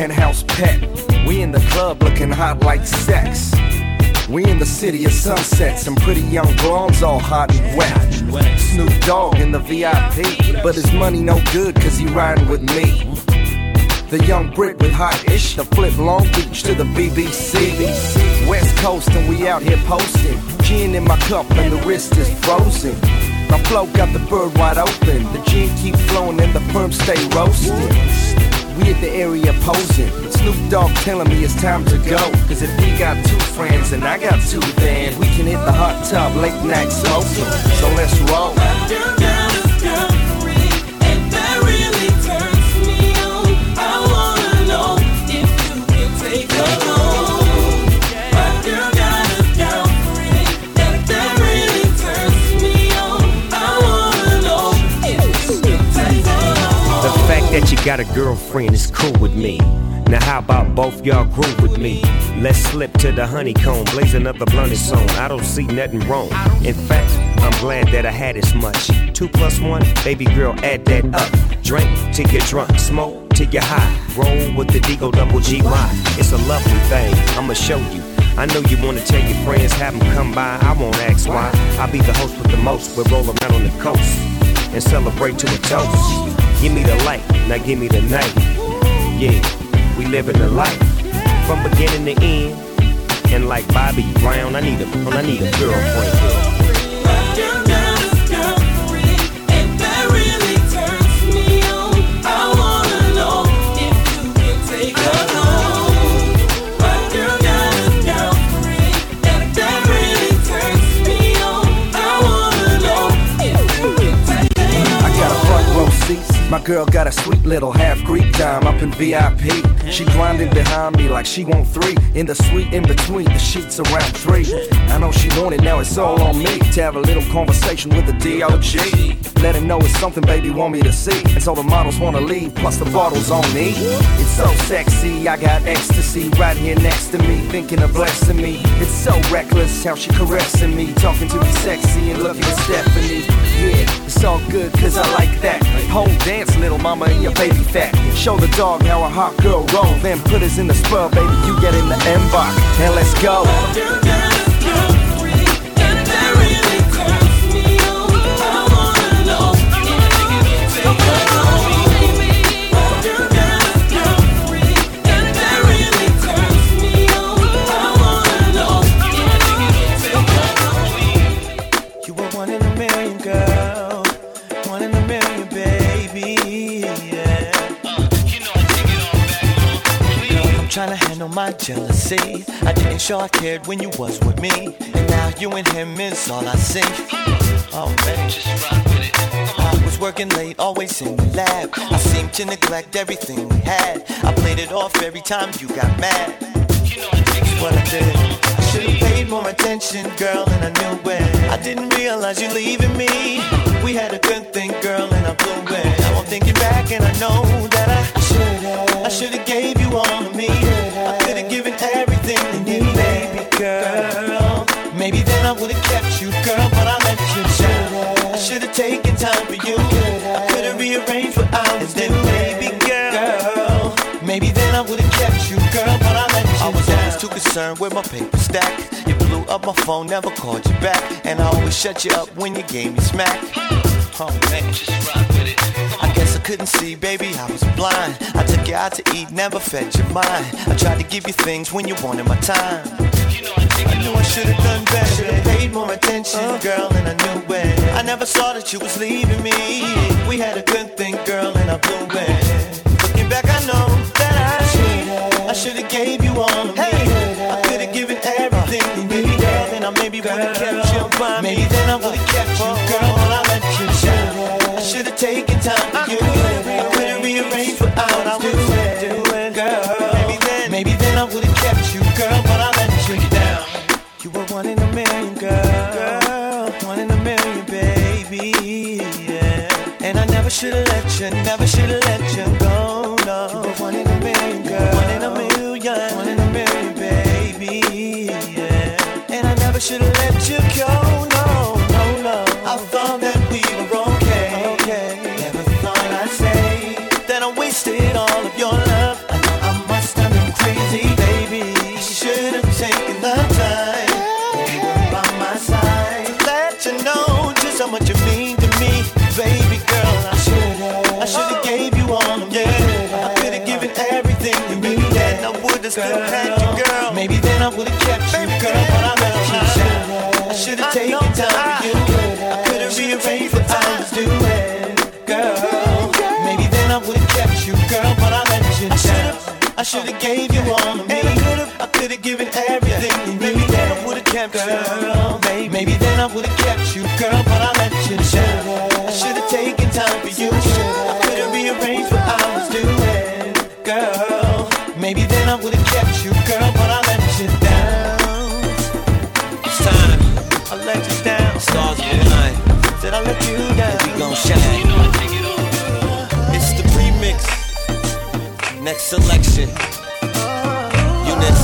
penthouse pet. We in the club looking hot like sex. We in the city of sunsets and pretty young blondes all hot and wet. Snoop Dogg in the V I P, but his money no good cause he riding with me. The young Brit with hot ish to flip Long Beach to the B B C. West Coast and we out here posting. Gin in my cup and the wrist is frozen. My flow got the bird wide open. The gin keep flowing and the perm stay roasted. We at the area posing. Snoop Dogg telling me it's time to go. Cause if he got two friends and I got two, then we can hit the hot tub late night smoking. So let's roll. That you got a girlfriend is cool with me. Now how about both y'all groove with me? Let's slip to the honeycomb, blaze another blunt song. I don't see nothing wrong. In fact, I'm glad that I had as much. Two plus one, baby girl, add that up. Drink till you're drunk, smoke till you're high. Roll with the Deagle Double G Y. It's a lovely thing, I'ma show you. I know you wanna tell your friends, have them come by. I won't ask why. I'll be the host with the most. We'll roll around on the coast and celebrate to a toast. Give me the light, now give me the night. Yeah, we living the life from beginning to end. And like Bobby Brown, I need a, I need a girlfriend. My girl got a sweet little half Greek dime up in V I P. She grinding behind me like she want three. In the suite in between, the sheets around three. I know she want it, now it's all on me to have a little conversation with the D O G. Let him know it's something baby want me to see. And so the models wanna leave, plus the bottles on me. It's so sexy, I got ecstasy right here next to me, thinking of blessing me. It's so reckless how she caressing me, talking to me sexy and looking at Stephanie. Yeah, it's all good cause I like that. Whole dance, little mama, and your baby fat. Show the dog how a hot girl roll, then put us in the spur, baby, you get in the M-Bach. And let's go. Trying to handle my jealousy. I didn't show I cared when you was with me, and now you and him is all I see. Oh man, just rock with it. I was working late, always in the lab. I seemed to neglect everything we had. I played it off every time you got mad. What I did, I should've paid more attention, girl, and I knew it. I didn't realize you leaving me. We had a good thing, girl, and I blew it. Now I'm thinking back and I know that I should've, I should've gave you all of me. I could've given everything to you, baby girl. Maybe then I would've kept you, girl, but I let you down. I should've taken time for you. I could've rearranged for hours, then baby girl. Maybe then I would've kept you, girl, but I let you down. I was always too concerned with my paper stack. You blew up my phone, never called you back, and I always shut you up when you gave me smack. Oh man, just rock with it. I guess I couldn't see, baby, I was blind. I took you out to eat, never fed your mind. I tried to give you things when you wanted my time. I knew I should've done better. Should've paid more attention, girl, and I knew it. I never saw that you was leaving me. We had a good thing, girl, and I blew it. Looking back, I know that I should've, I should've gave you all of me. I could've given everything to you, girl, then I maybe would've kept you by me. Maybe then I would've kept you, girl, but I let you down. I should've taken time for you. I could've rearranged for hours. I was doing, girl. Maybe then, maybe then I would've kept you, girl, but I let you down. You were one in a million, girl. One in a million, baby. Yeah. And I never should've let you, never should've let you go, no. You were one in a million, girl. One in a million, one in a million, baby. Yeah. And I never should've let you go, no, no, no. I thought that we were okay, okay. Never thought I'd say that I wasted all of your love. I know I would've kept you, girl, but I let you down. I should've taken time for you. I could've rearranged what I was doing, girl. Maybe then I would've kept you, girl, but I let you down. I should've gave you all of me. I could've given everything to you. Maybe then I would've kept you, girl. Maybe then I would've kept you, girl, but I let you down. I should've taken time for you. I could've rearranged what I was doing, girl. Maybe then I would've kept you, girl, but I let you down. It's time. I let you down. Stars will align. Said I let you down. We gon' shine. It's the remix. Next selection. Eunice.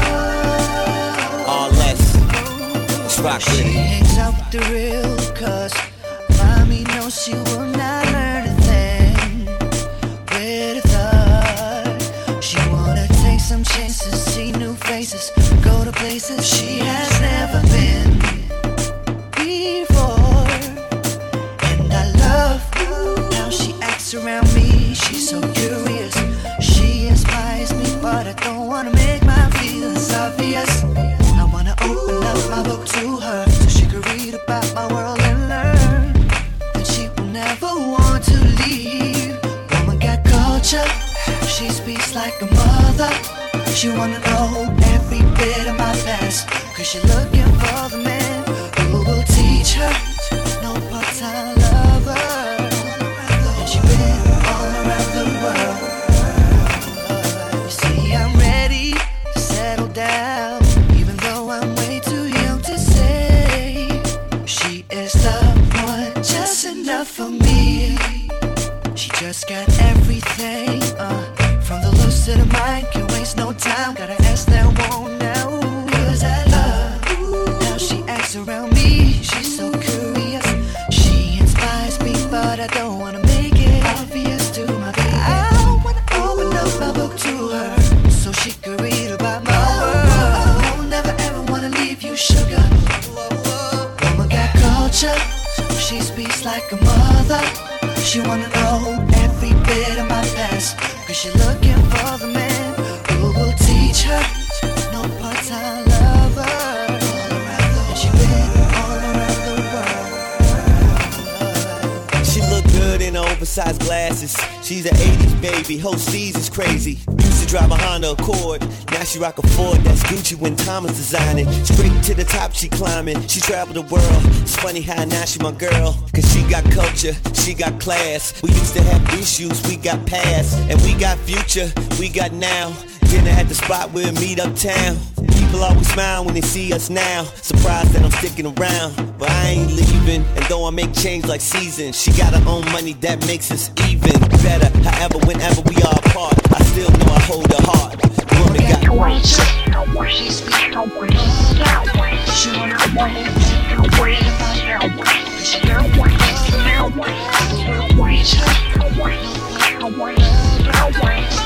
All less. Let's rock with it. She hangs out with the real, cause mommy knows she will not learn a thing with her. She wanna take some chances, see new faces, go to places she has never been before. And I love how she acts around me. She's so curious, she inspires me, but I don't wanna make my feelings obvious. I wanna open up my book to her so she can read about my world and learn that she will never want to leave. Woman got culture, she speaks like a mother. She wanna know every bit of my past, cause she looking for the man who will teach her no part-time lover. And she been all around the world. You see, I'm ready to settle down, even though I'm way too young to say she is the one, just enough for me. She just got everything, uh, from the looks to the mind, can't waste no time, gotta ask that won't know. Cause I love how she acts around me, she's so curious, she inspires me, but I don't wanna make it obvious to my baby. I wanna open up my book to her, so she can read about my world. I will never ever wanna leave you, sugar. Woman got culture, she speaks like a mother. She wanna know every bit of my past, cause she looking for the man who will teach her no part-time lover. All around the, she been all around the world. She look good in her oversized glasses. She's an eighties baby, whole season's crazy. Used to drive a Honda Accord, now she rock a Ford. That's Gucci when Thomas designing. Straight to the top she climbing, she traveled the world. It's funny how now she my girl, cause she got culture, she got class. We used to have issues, we got past. And we got future, we got now. Dinner at the spot, we'll meet uptown. People always smile when they see us now. Surprised that I'm sticking around, but I ain't leaving. And though I make change like seasons, she got her own money that makes us even better. However, whenever we are apart, I still know I hold her heart. Woman got culture. She speaks no words. She wanna know every bit about her, cause she don't want to reach her.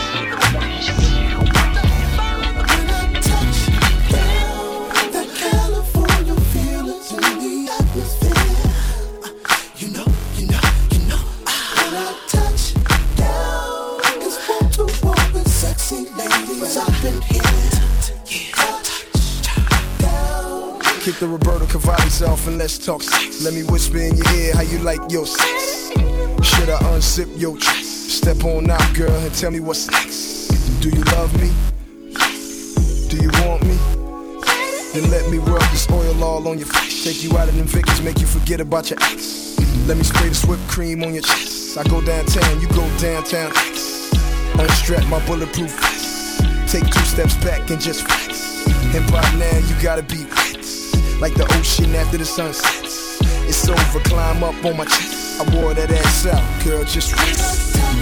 Kick the Roberto Cavalli's off and let's talk sex. Let me whisper in your ear how you like your sex. Should I unzip your dress? Step on out, girl, and tell me what's next. Do you love me? Do you want me? Then let me rub this oil all on your face. Take you out of them Vickers, make you forget about your ex. Let me spray this whipped cream on your chest. I go downtown, you go downtown. Unstrap my bulletproof vest. Take two steps back and just flex. And by now you gotta be wet, like the ocean after the sun sets. It's over, climb up on my chest. I wore that ass out, girl, just rest.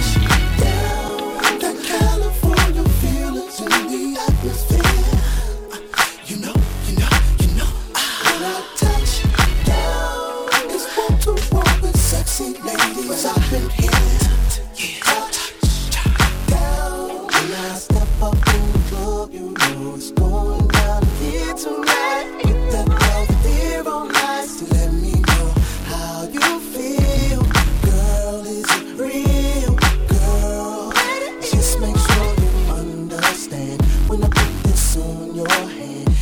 That California feelings in the atmosphere. You know, you know, you know. When I touch down, it's one to one with sexy ladies up in here. Touch down. When I step up in the club, you know it's going down here tonight. With that velvet on ice to let me know how you feel. Girl, is it real? Girl, just make sure you understand when I put this on your hand.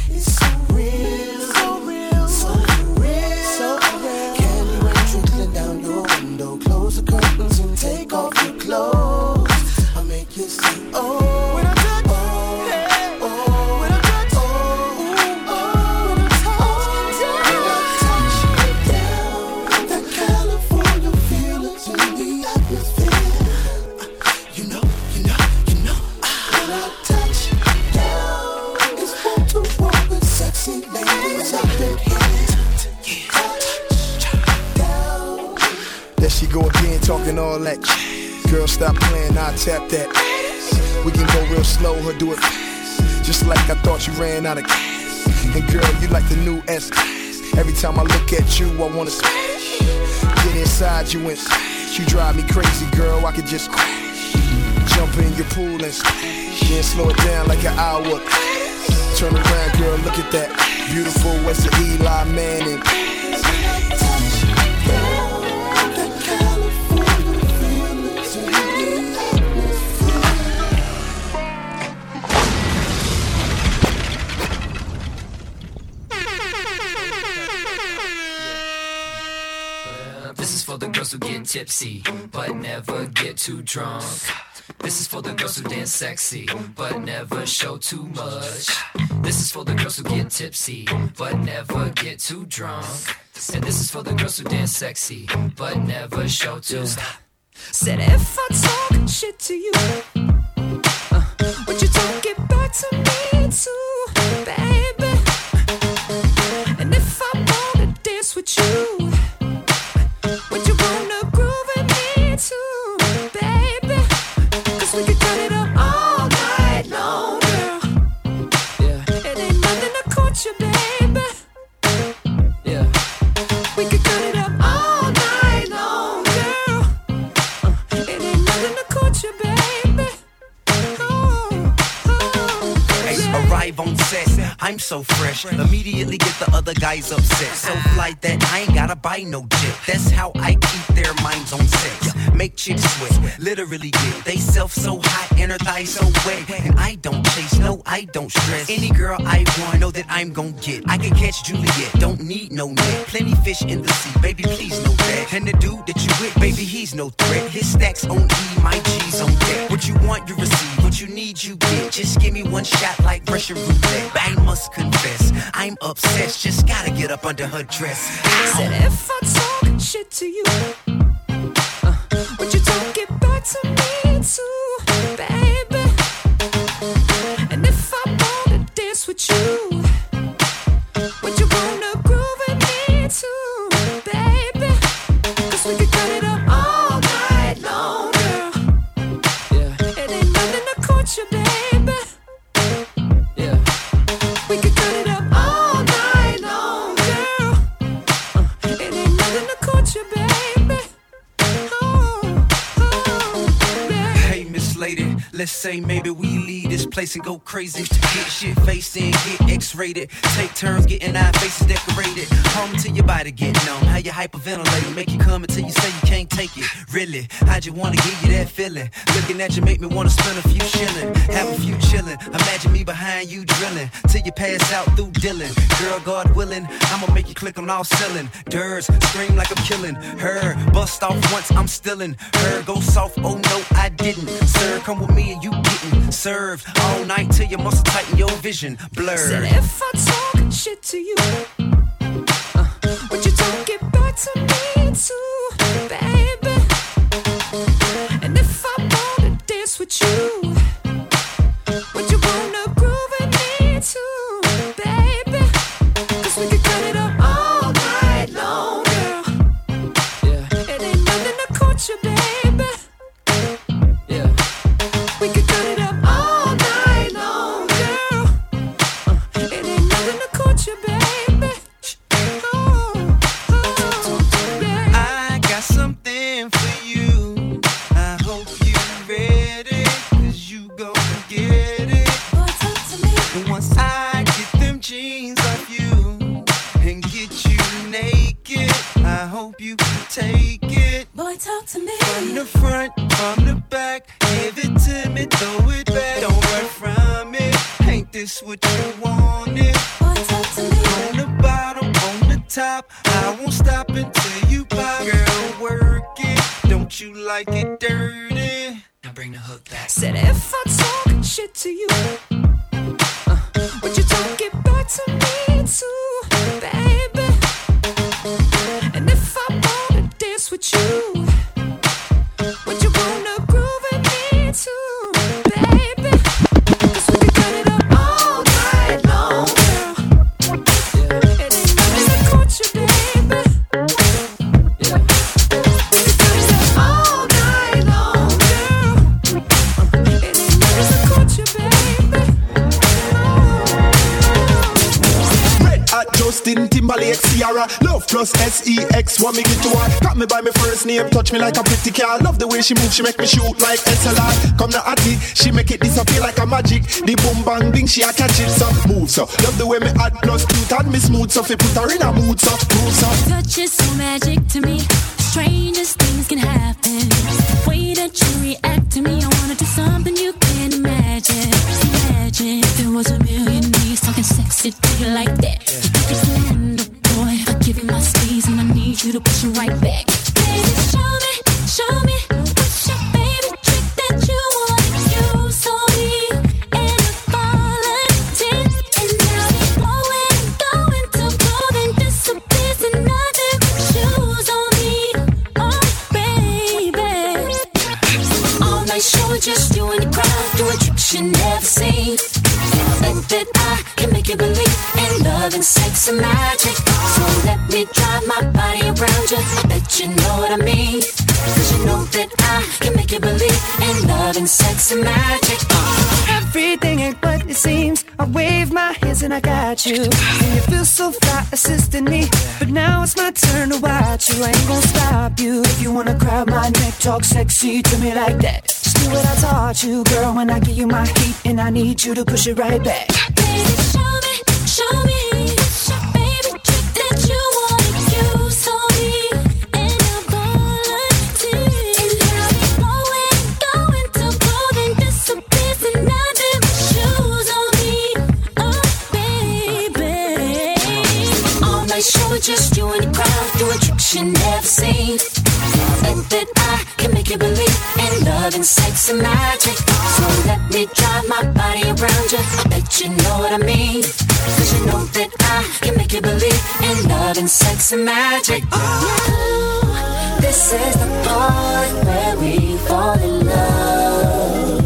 close the curtains and take off your clothes. I'll make you say, oh, when I touch, oh, hey, oh, when I touch, oh, oh, when I touch you down, when I touch you down, that California feelings in the atmosphere. You know, you know, you know, when I touch you down, it's one to one with sexy ladies up in here. There she go again, talking all that. Girl, stop playing, I'll tap that. We can go real slow, her do it fast. Just like I thought you ran out of gas. And girl, you like the new S. Every time I look at you, I wanna smash. Get inside you and smash. You drive me crazy, girl, I could just crash. Jump in your pool and splash. Then slow it down like an hour. Turn around, girl, look at that. Beautiful as an Eli Manning. This is for the girls who get tipsy, but never get too drunk. This is for the girls who dance sexy, but never show too much. This is for the girls who get tipsy, but never get too drunk. And this is for the girls who dance sexy, but never show too much. Said if I talk shit to you, uh, would you talk it back to me too, baby? And if I wanna dance with you, would you wanna groove with me too, baby? Cause we could cut it up all night long, girl. Yeah. It ain't nothing to court you, baby. Yeah. We could cut it up all night long, girl. Uh, it ain't nothing to court you, baby. Oh, oh, Hey, yeah. arrive on set, I'm so fresh. Immediately get the other guys upset. So fly that I ain't gotta buy no jet. That's how I keep their minds on sex. Make chicks sweat, literally get they self so hot and her thighs so wet. And I don't chase, no, I don't stress. Any girl I want, know that I'm gon' get. I can catch Juliet, don't need no net. Plenty fish in the sea, baby, please know that. And the dude that you with, baby, he's no threat. His stacks on E, my G's on deck. What you want, you receive. What you need, you get. Just give me one shot like Russian roulette. I must confess, I'm obsessed. Just gotta get up under her dress. Said if I talk shit to you, uh, would you talk it back to me too, baby? And if I wanna dance with you, would you wanna groove with me too, baby? Cause we could cut it up all night long, girl. Yeah. It ain't nothing to court you, baby. Yeah. We could cut it up all night long, girl. Uh, it ain't nothing to court you, baby. Oh, oh, yeah. Hey, Miss Lady, let's say maybe we leave this place and go crazy. Get shit faced and get X-rated. Take turns getting our faces decorated. Home till your body get numb. How you hyperventilate, make you come until you say you can't take it. Really, I just wanna give you that feeling. Looking at you make me wanna spend a few shillin', have a few chillin'. Imagine me behind you drilling till you pass out through Dylan. Girl, God willing, I'ma make you click on all ceiling. Durs, scream like I'm killing her. Bust off once, I'm stillin'. Her go soft, oh no, I didn't. Sir, come with me and you getting served all night till your muscle tighten your vision blurred. Said if I talk shit to you, uh, would you talk it back to me too, baby? And if I wanna dance with you, would you wanna groove with me too, baby? Cause we could cut it up all night long, girl. Yeah. It ain't nothing to court you, baby. Yeah. We could cut it up all night long, girl. Uh, it ain't nothing to court you, baby. Oh, oh, yeah. I got something for you. I hope you ready, cause you gon' get it. Boy, talk to me. And once I get them jeans off you and get you naked, I hope you can take it. Boy, talk to me. From the front, from the back, give it to me, throw it back. Don't run from it. Ain't this what you wanted? Boy, talk to me. On the bottom, on the top, I won't stop until you pop. Girl, work it. Don't like it dirty. Now bring the hook back. Said if I talk shit to you, uh, would you talk it back to me too, baby? And if I wanna dance with you, would you wanna groove with me too, baby? 'Cause we can cut it up all night long, girl. Yeah. It ain't nothing to court you, baby. Yeah. We can cut it up all night long, girl. It ain't nothing to court you, baby. Red Hot Justin Timberlake Ciara, Love plus S E X, want me get to her. Got me by my first name, touch me like a pretty car. Love the way she move, she make me shoot like S L R. Come now Atty, she make it disappear like a magic. The boom bang bing, she a catch it, so move so. Love the way me add plus cute and me smooth, so fi put her in a mood, so move so. Touch is so magic to me, the strangest things can happen. The way that you react to me, I wanna do something you can't imagine. Imagine if there was a million ways talking sexy to you like that. You surrender, boy, I give you my space and I need you to push it right back. Baby, show me, show me, what's your favorite trick that you wanna use on me? And the volunteer, and now we blowing, going to clothing, disappears and nothing but shoes on me. Oh, baby. All night show, just you and the crowd, doing tricks you never seen. Think that I can make you believe in love and sex and magic. So let me drive my body around you, I bet you know what I mean. Cause you know that I can make you believe in love and sex and magic. Everything ain't what it seems. I wave my hands and I got you. And you feel so fly assisting me. But now it's my turn to watch you. I ain't gonna stop you. If you wanna grab my neck, talk sexy to me like that. Just do what I taught you, girl, when I give you my heat. And I need you to push it right back. Baby, show me, show me, what's your favorite trick that you wanna use on me? And I'm volunteer. And now we blowing, going to clothing, disappears and nothing but shoes on me. Oh, baby. All night show, just you and the crowd, doing tricks you never seen. Think that I can make you believe in love and sex and magic. So let me drive my body around you, I bet you know what I mean. Cause you know that I can make you believe in love and sex and magic. Oh, this is the part where we fall in love.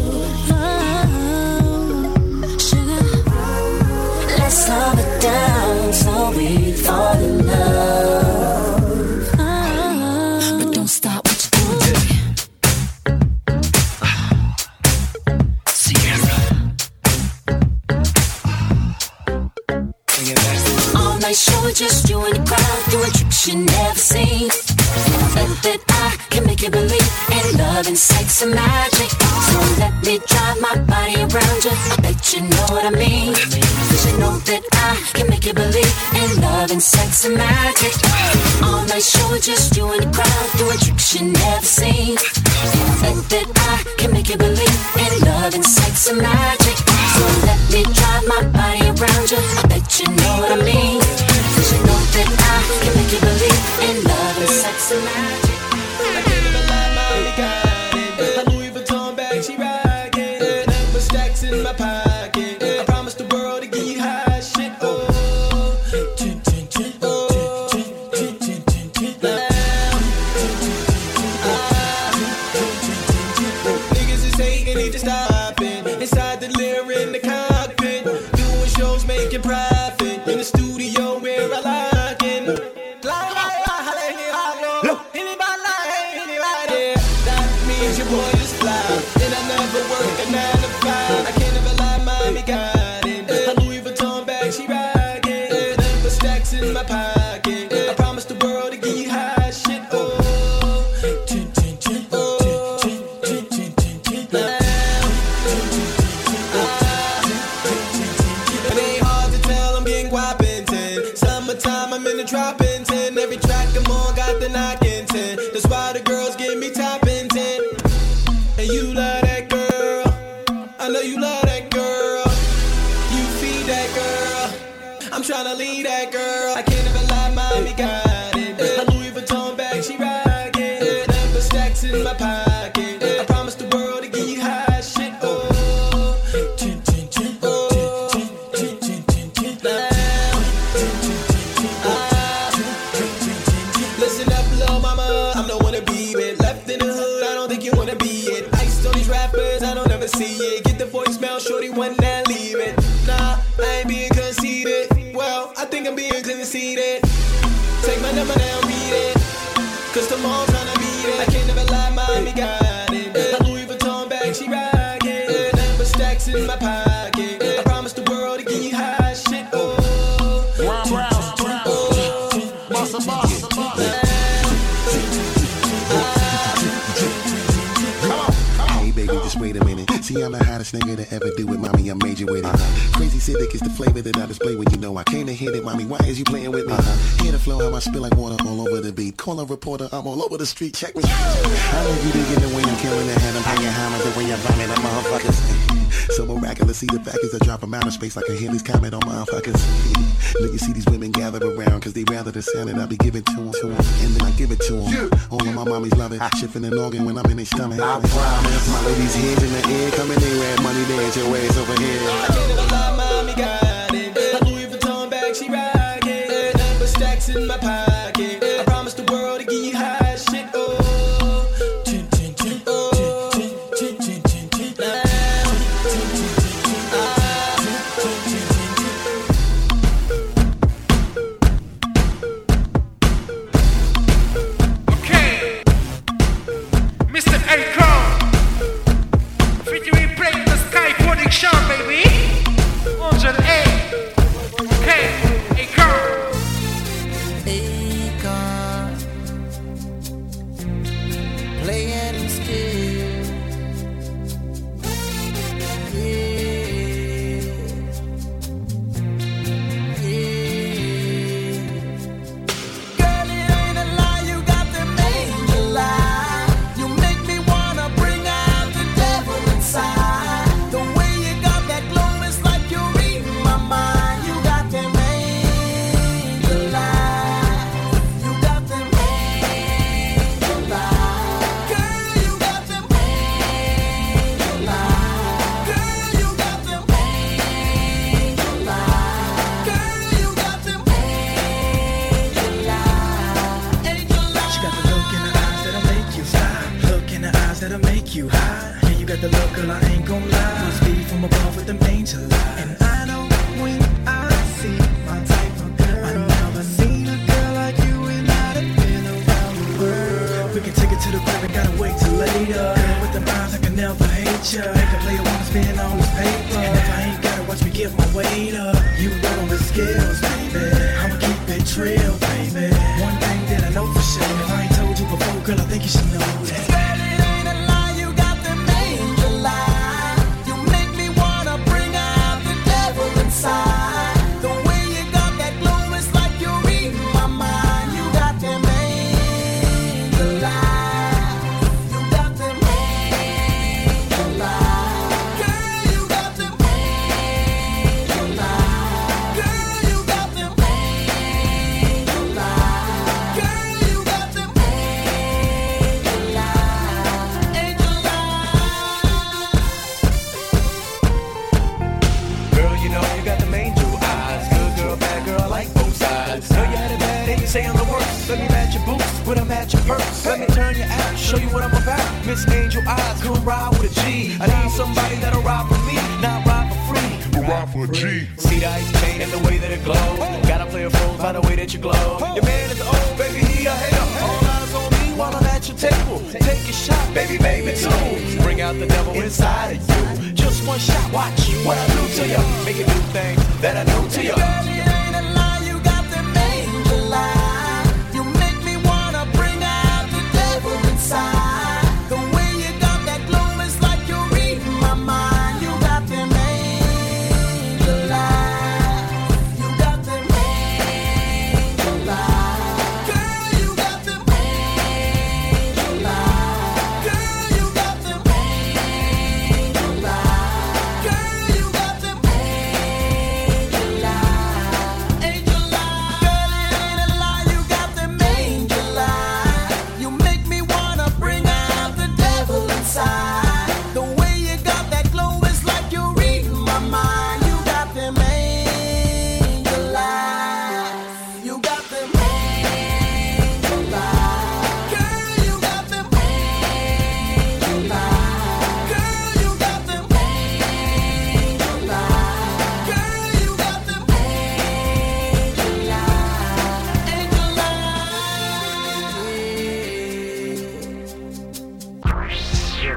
Oh, sugar, let's slow it down so we fall in love. Oh, but don't stop what you're doing. All night show, just you and the crowd, doing tricks you never seen. Think that I can make you believe in love and sex and magic. So let me drive my body around you, I bet you know what I mean. Cause you know that I can make you believe in love and sex and magic. All night show, just you and the crowd, doing tricks you never seen. Think that I can make you believe in love and sex and magic. So let me drive my body around you, I bet you know what I mean. Cause you know that I can make you believe in love and sex and magic. I can't even lie, mommy got it. My Louis Vuitton bag, she rockin'. Number stacks in my pocket. I promise the world to give you high shit. Oh, niggas is hating, need to stop it. Inside the lyric in the cockpit, doing shows, making profit. In the studio where I like it. Your boy is fly, and I never work a nine to five. I can't ever lie, mommy got it. My Louis Vuitton bag, she rockin'. Number stacks in my pocket. I promise the world to give you high shit. Oh, it ain't hard to tell I'm getting guapin' ten. Summertime, I'm in the dropping ten. Every track I'm on got the knockin' ten. That's why the girls give me toppin' ten. And you love that girl, I know you love in my pocket. I promise the world to give you high shit. Oh. Listen up, little mama, I'm the one to be with. Left in the hood, I don't think you wanna be it. Iced on these rappers, I don't ever see it. Get the voicemail, shorty, one now leave it. Nah, I ain't being conceited. Well, I think I'm being conceited. Take my number down, beat it. Cause tomorrow's tryna beat it. I can't never lie, mommy got it. My Louis Vuitton bag, she rockin'. Number stacks in my pocket. I promise the world to give you high shit. Oh, Brown, brown, brown. Bossa, bossa, bossa. Hey baby, just wait a minute. See, I'm the hottest nigga to ever do it, mommy. I'm major with it. Uh-huh. Crazy Civic is the flavor that I display when you know I came to hit it, mommy. Why is you playing with me? Uh-huh. Hear the flow, how I spill like water all over the beat. Call a reporter, I'm all over the street. Check me. I know you dig in the way I'm killing the head. I'm hanging hammer the way I'm vomit on motherfuckers. So miraculous, see the package I drop from outer space like a Halley's Comet on motherfuckers. Look, you see these women gather around cause they rather the sound that I be giving to them, to them. And then I give it to them. Yeah. All of my mommies love it. Shifting an organ when I'm in their stomach. I promise. My ladies' heads in the air, coming in red money dance your ways over here. I can't never lie, mommy got it. My Louis Vuitton bag, she rockin'. Number stacks in my pocket. I promise the world to give you high shit. Oh.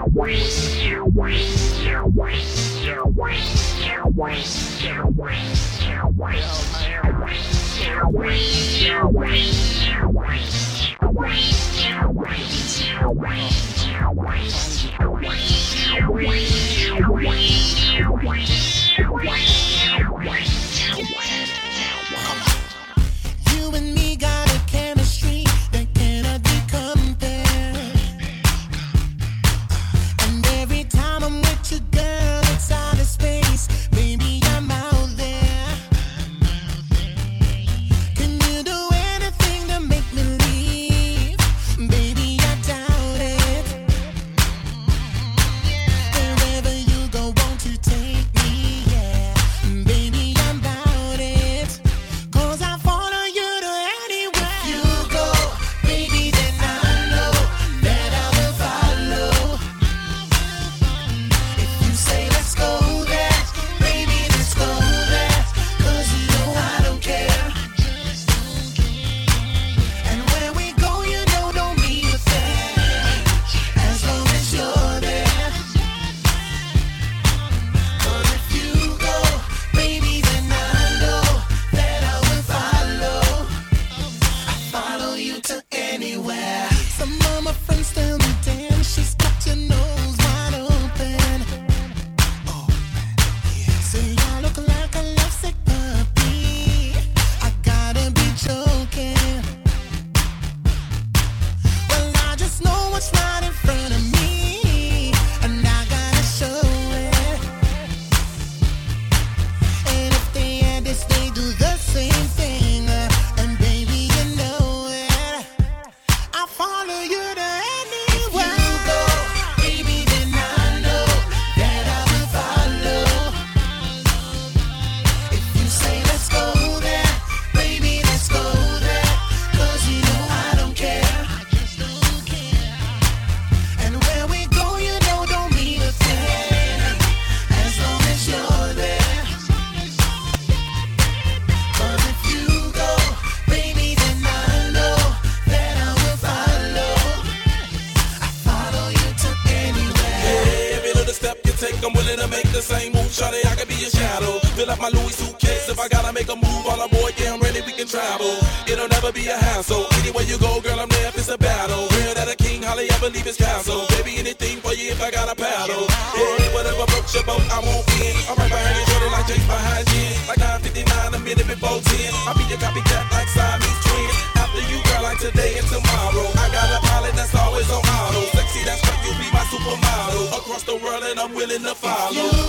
You and me got a chemistry that cannot be compared. And every time I'm with you, girl, it's out of space. Baby, I'm out there. Can you do anything to make me leave? Baby, I doubt it. Wherever you go, won't you take me? Yeah. Baby, I'm about it. Cause I follow you to anywhere. If you go, baby, then I know that I will follow. If you say let's go there, baby, let's go there. Cause you know I don't care. And where we go, you know, don't be a thing. As long as you're there. Cause if you go, baby, then I know that I will follow. I follow you to anywhere. Some of my friends tell me, damn, she's got your nose wide open. Oh man, yeah. Say I look like a lovesick puppy. I gotta be joking. Well, I just know what's right in front of me, and I gotta show it. And if they had this, they do the same thing. And baby, you know it. I follow you to anywhere. If you go, baby, then I know that I will follow. If you say let's go there, baby, let's go there. Cause you know I don't care. And where we go, you know, don't mean a thing. As long as you're there. Cause if you go, baby, then I know that I will follow. I follow you to anywhere. Yeah, every little step you take, I'm willing to make the same move. Shawty, I can be a shadow. Fill up my Louis suitcase. If I gotta make a move on a boy, yeah, I'm ready, we can travel. It'll never be a hassle. Anywhere you go, girl, I'm there if it's a battle. Real that a king, Holly, I believe it's castle. Baby, anything for you if I got a paddle. Yeah, whatever floats your boat, I won't win. I'm right behind you, shorty, like James behind Jen. Like nine fifty-nine, a minute before ten. I'll be your copycat like Siamese twin. After you, girl, like today and tomorrow. I got a pilot that's always on auto. Sexy, that's right, you be my supermodel. Across the world and I'm willing to follow.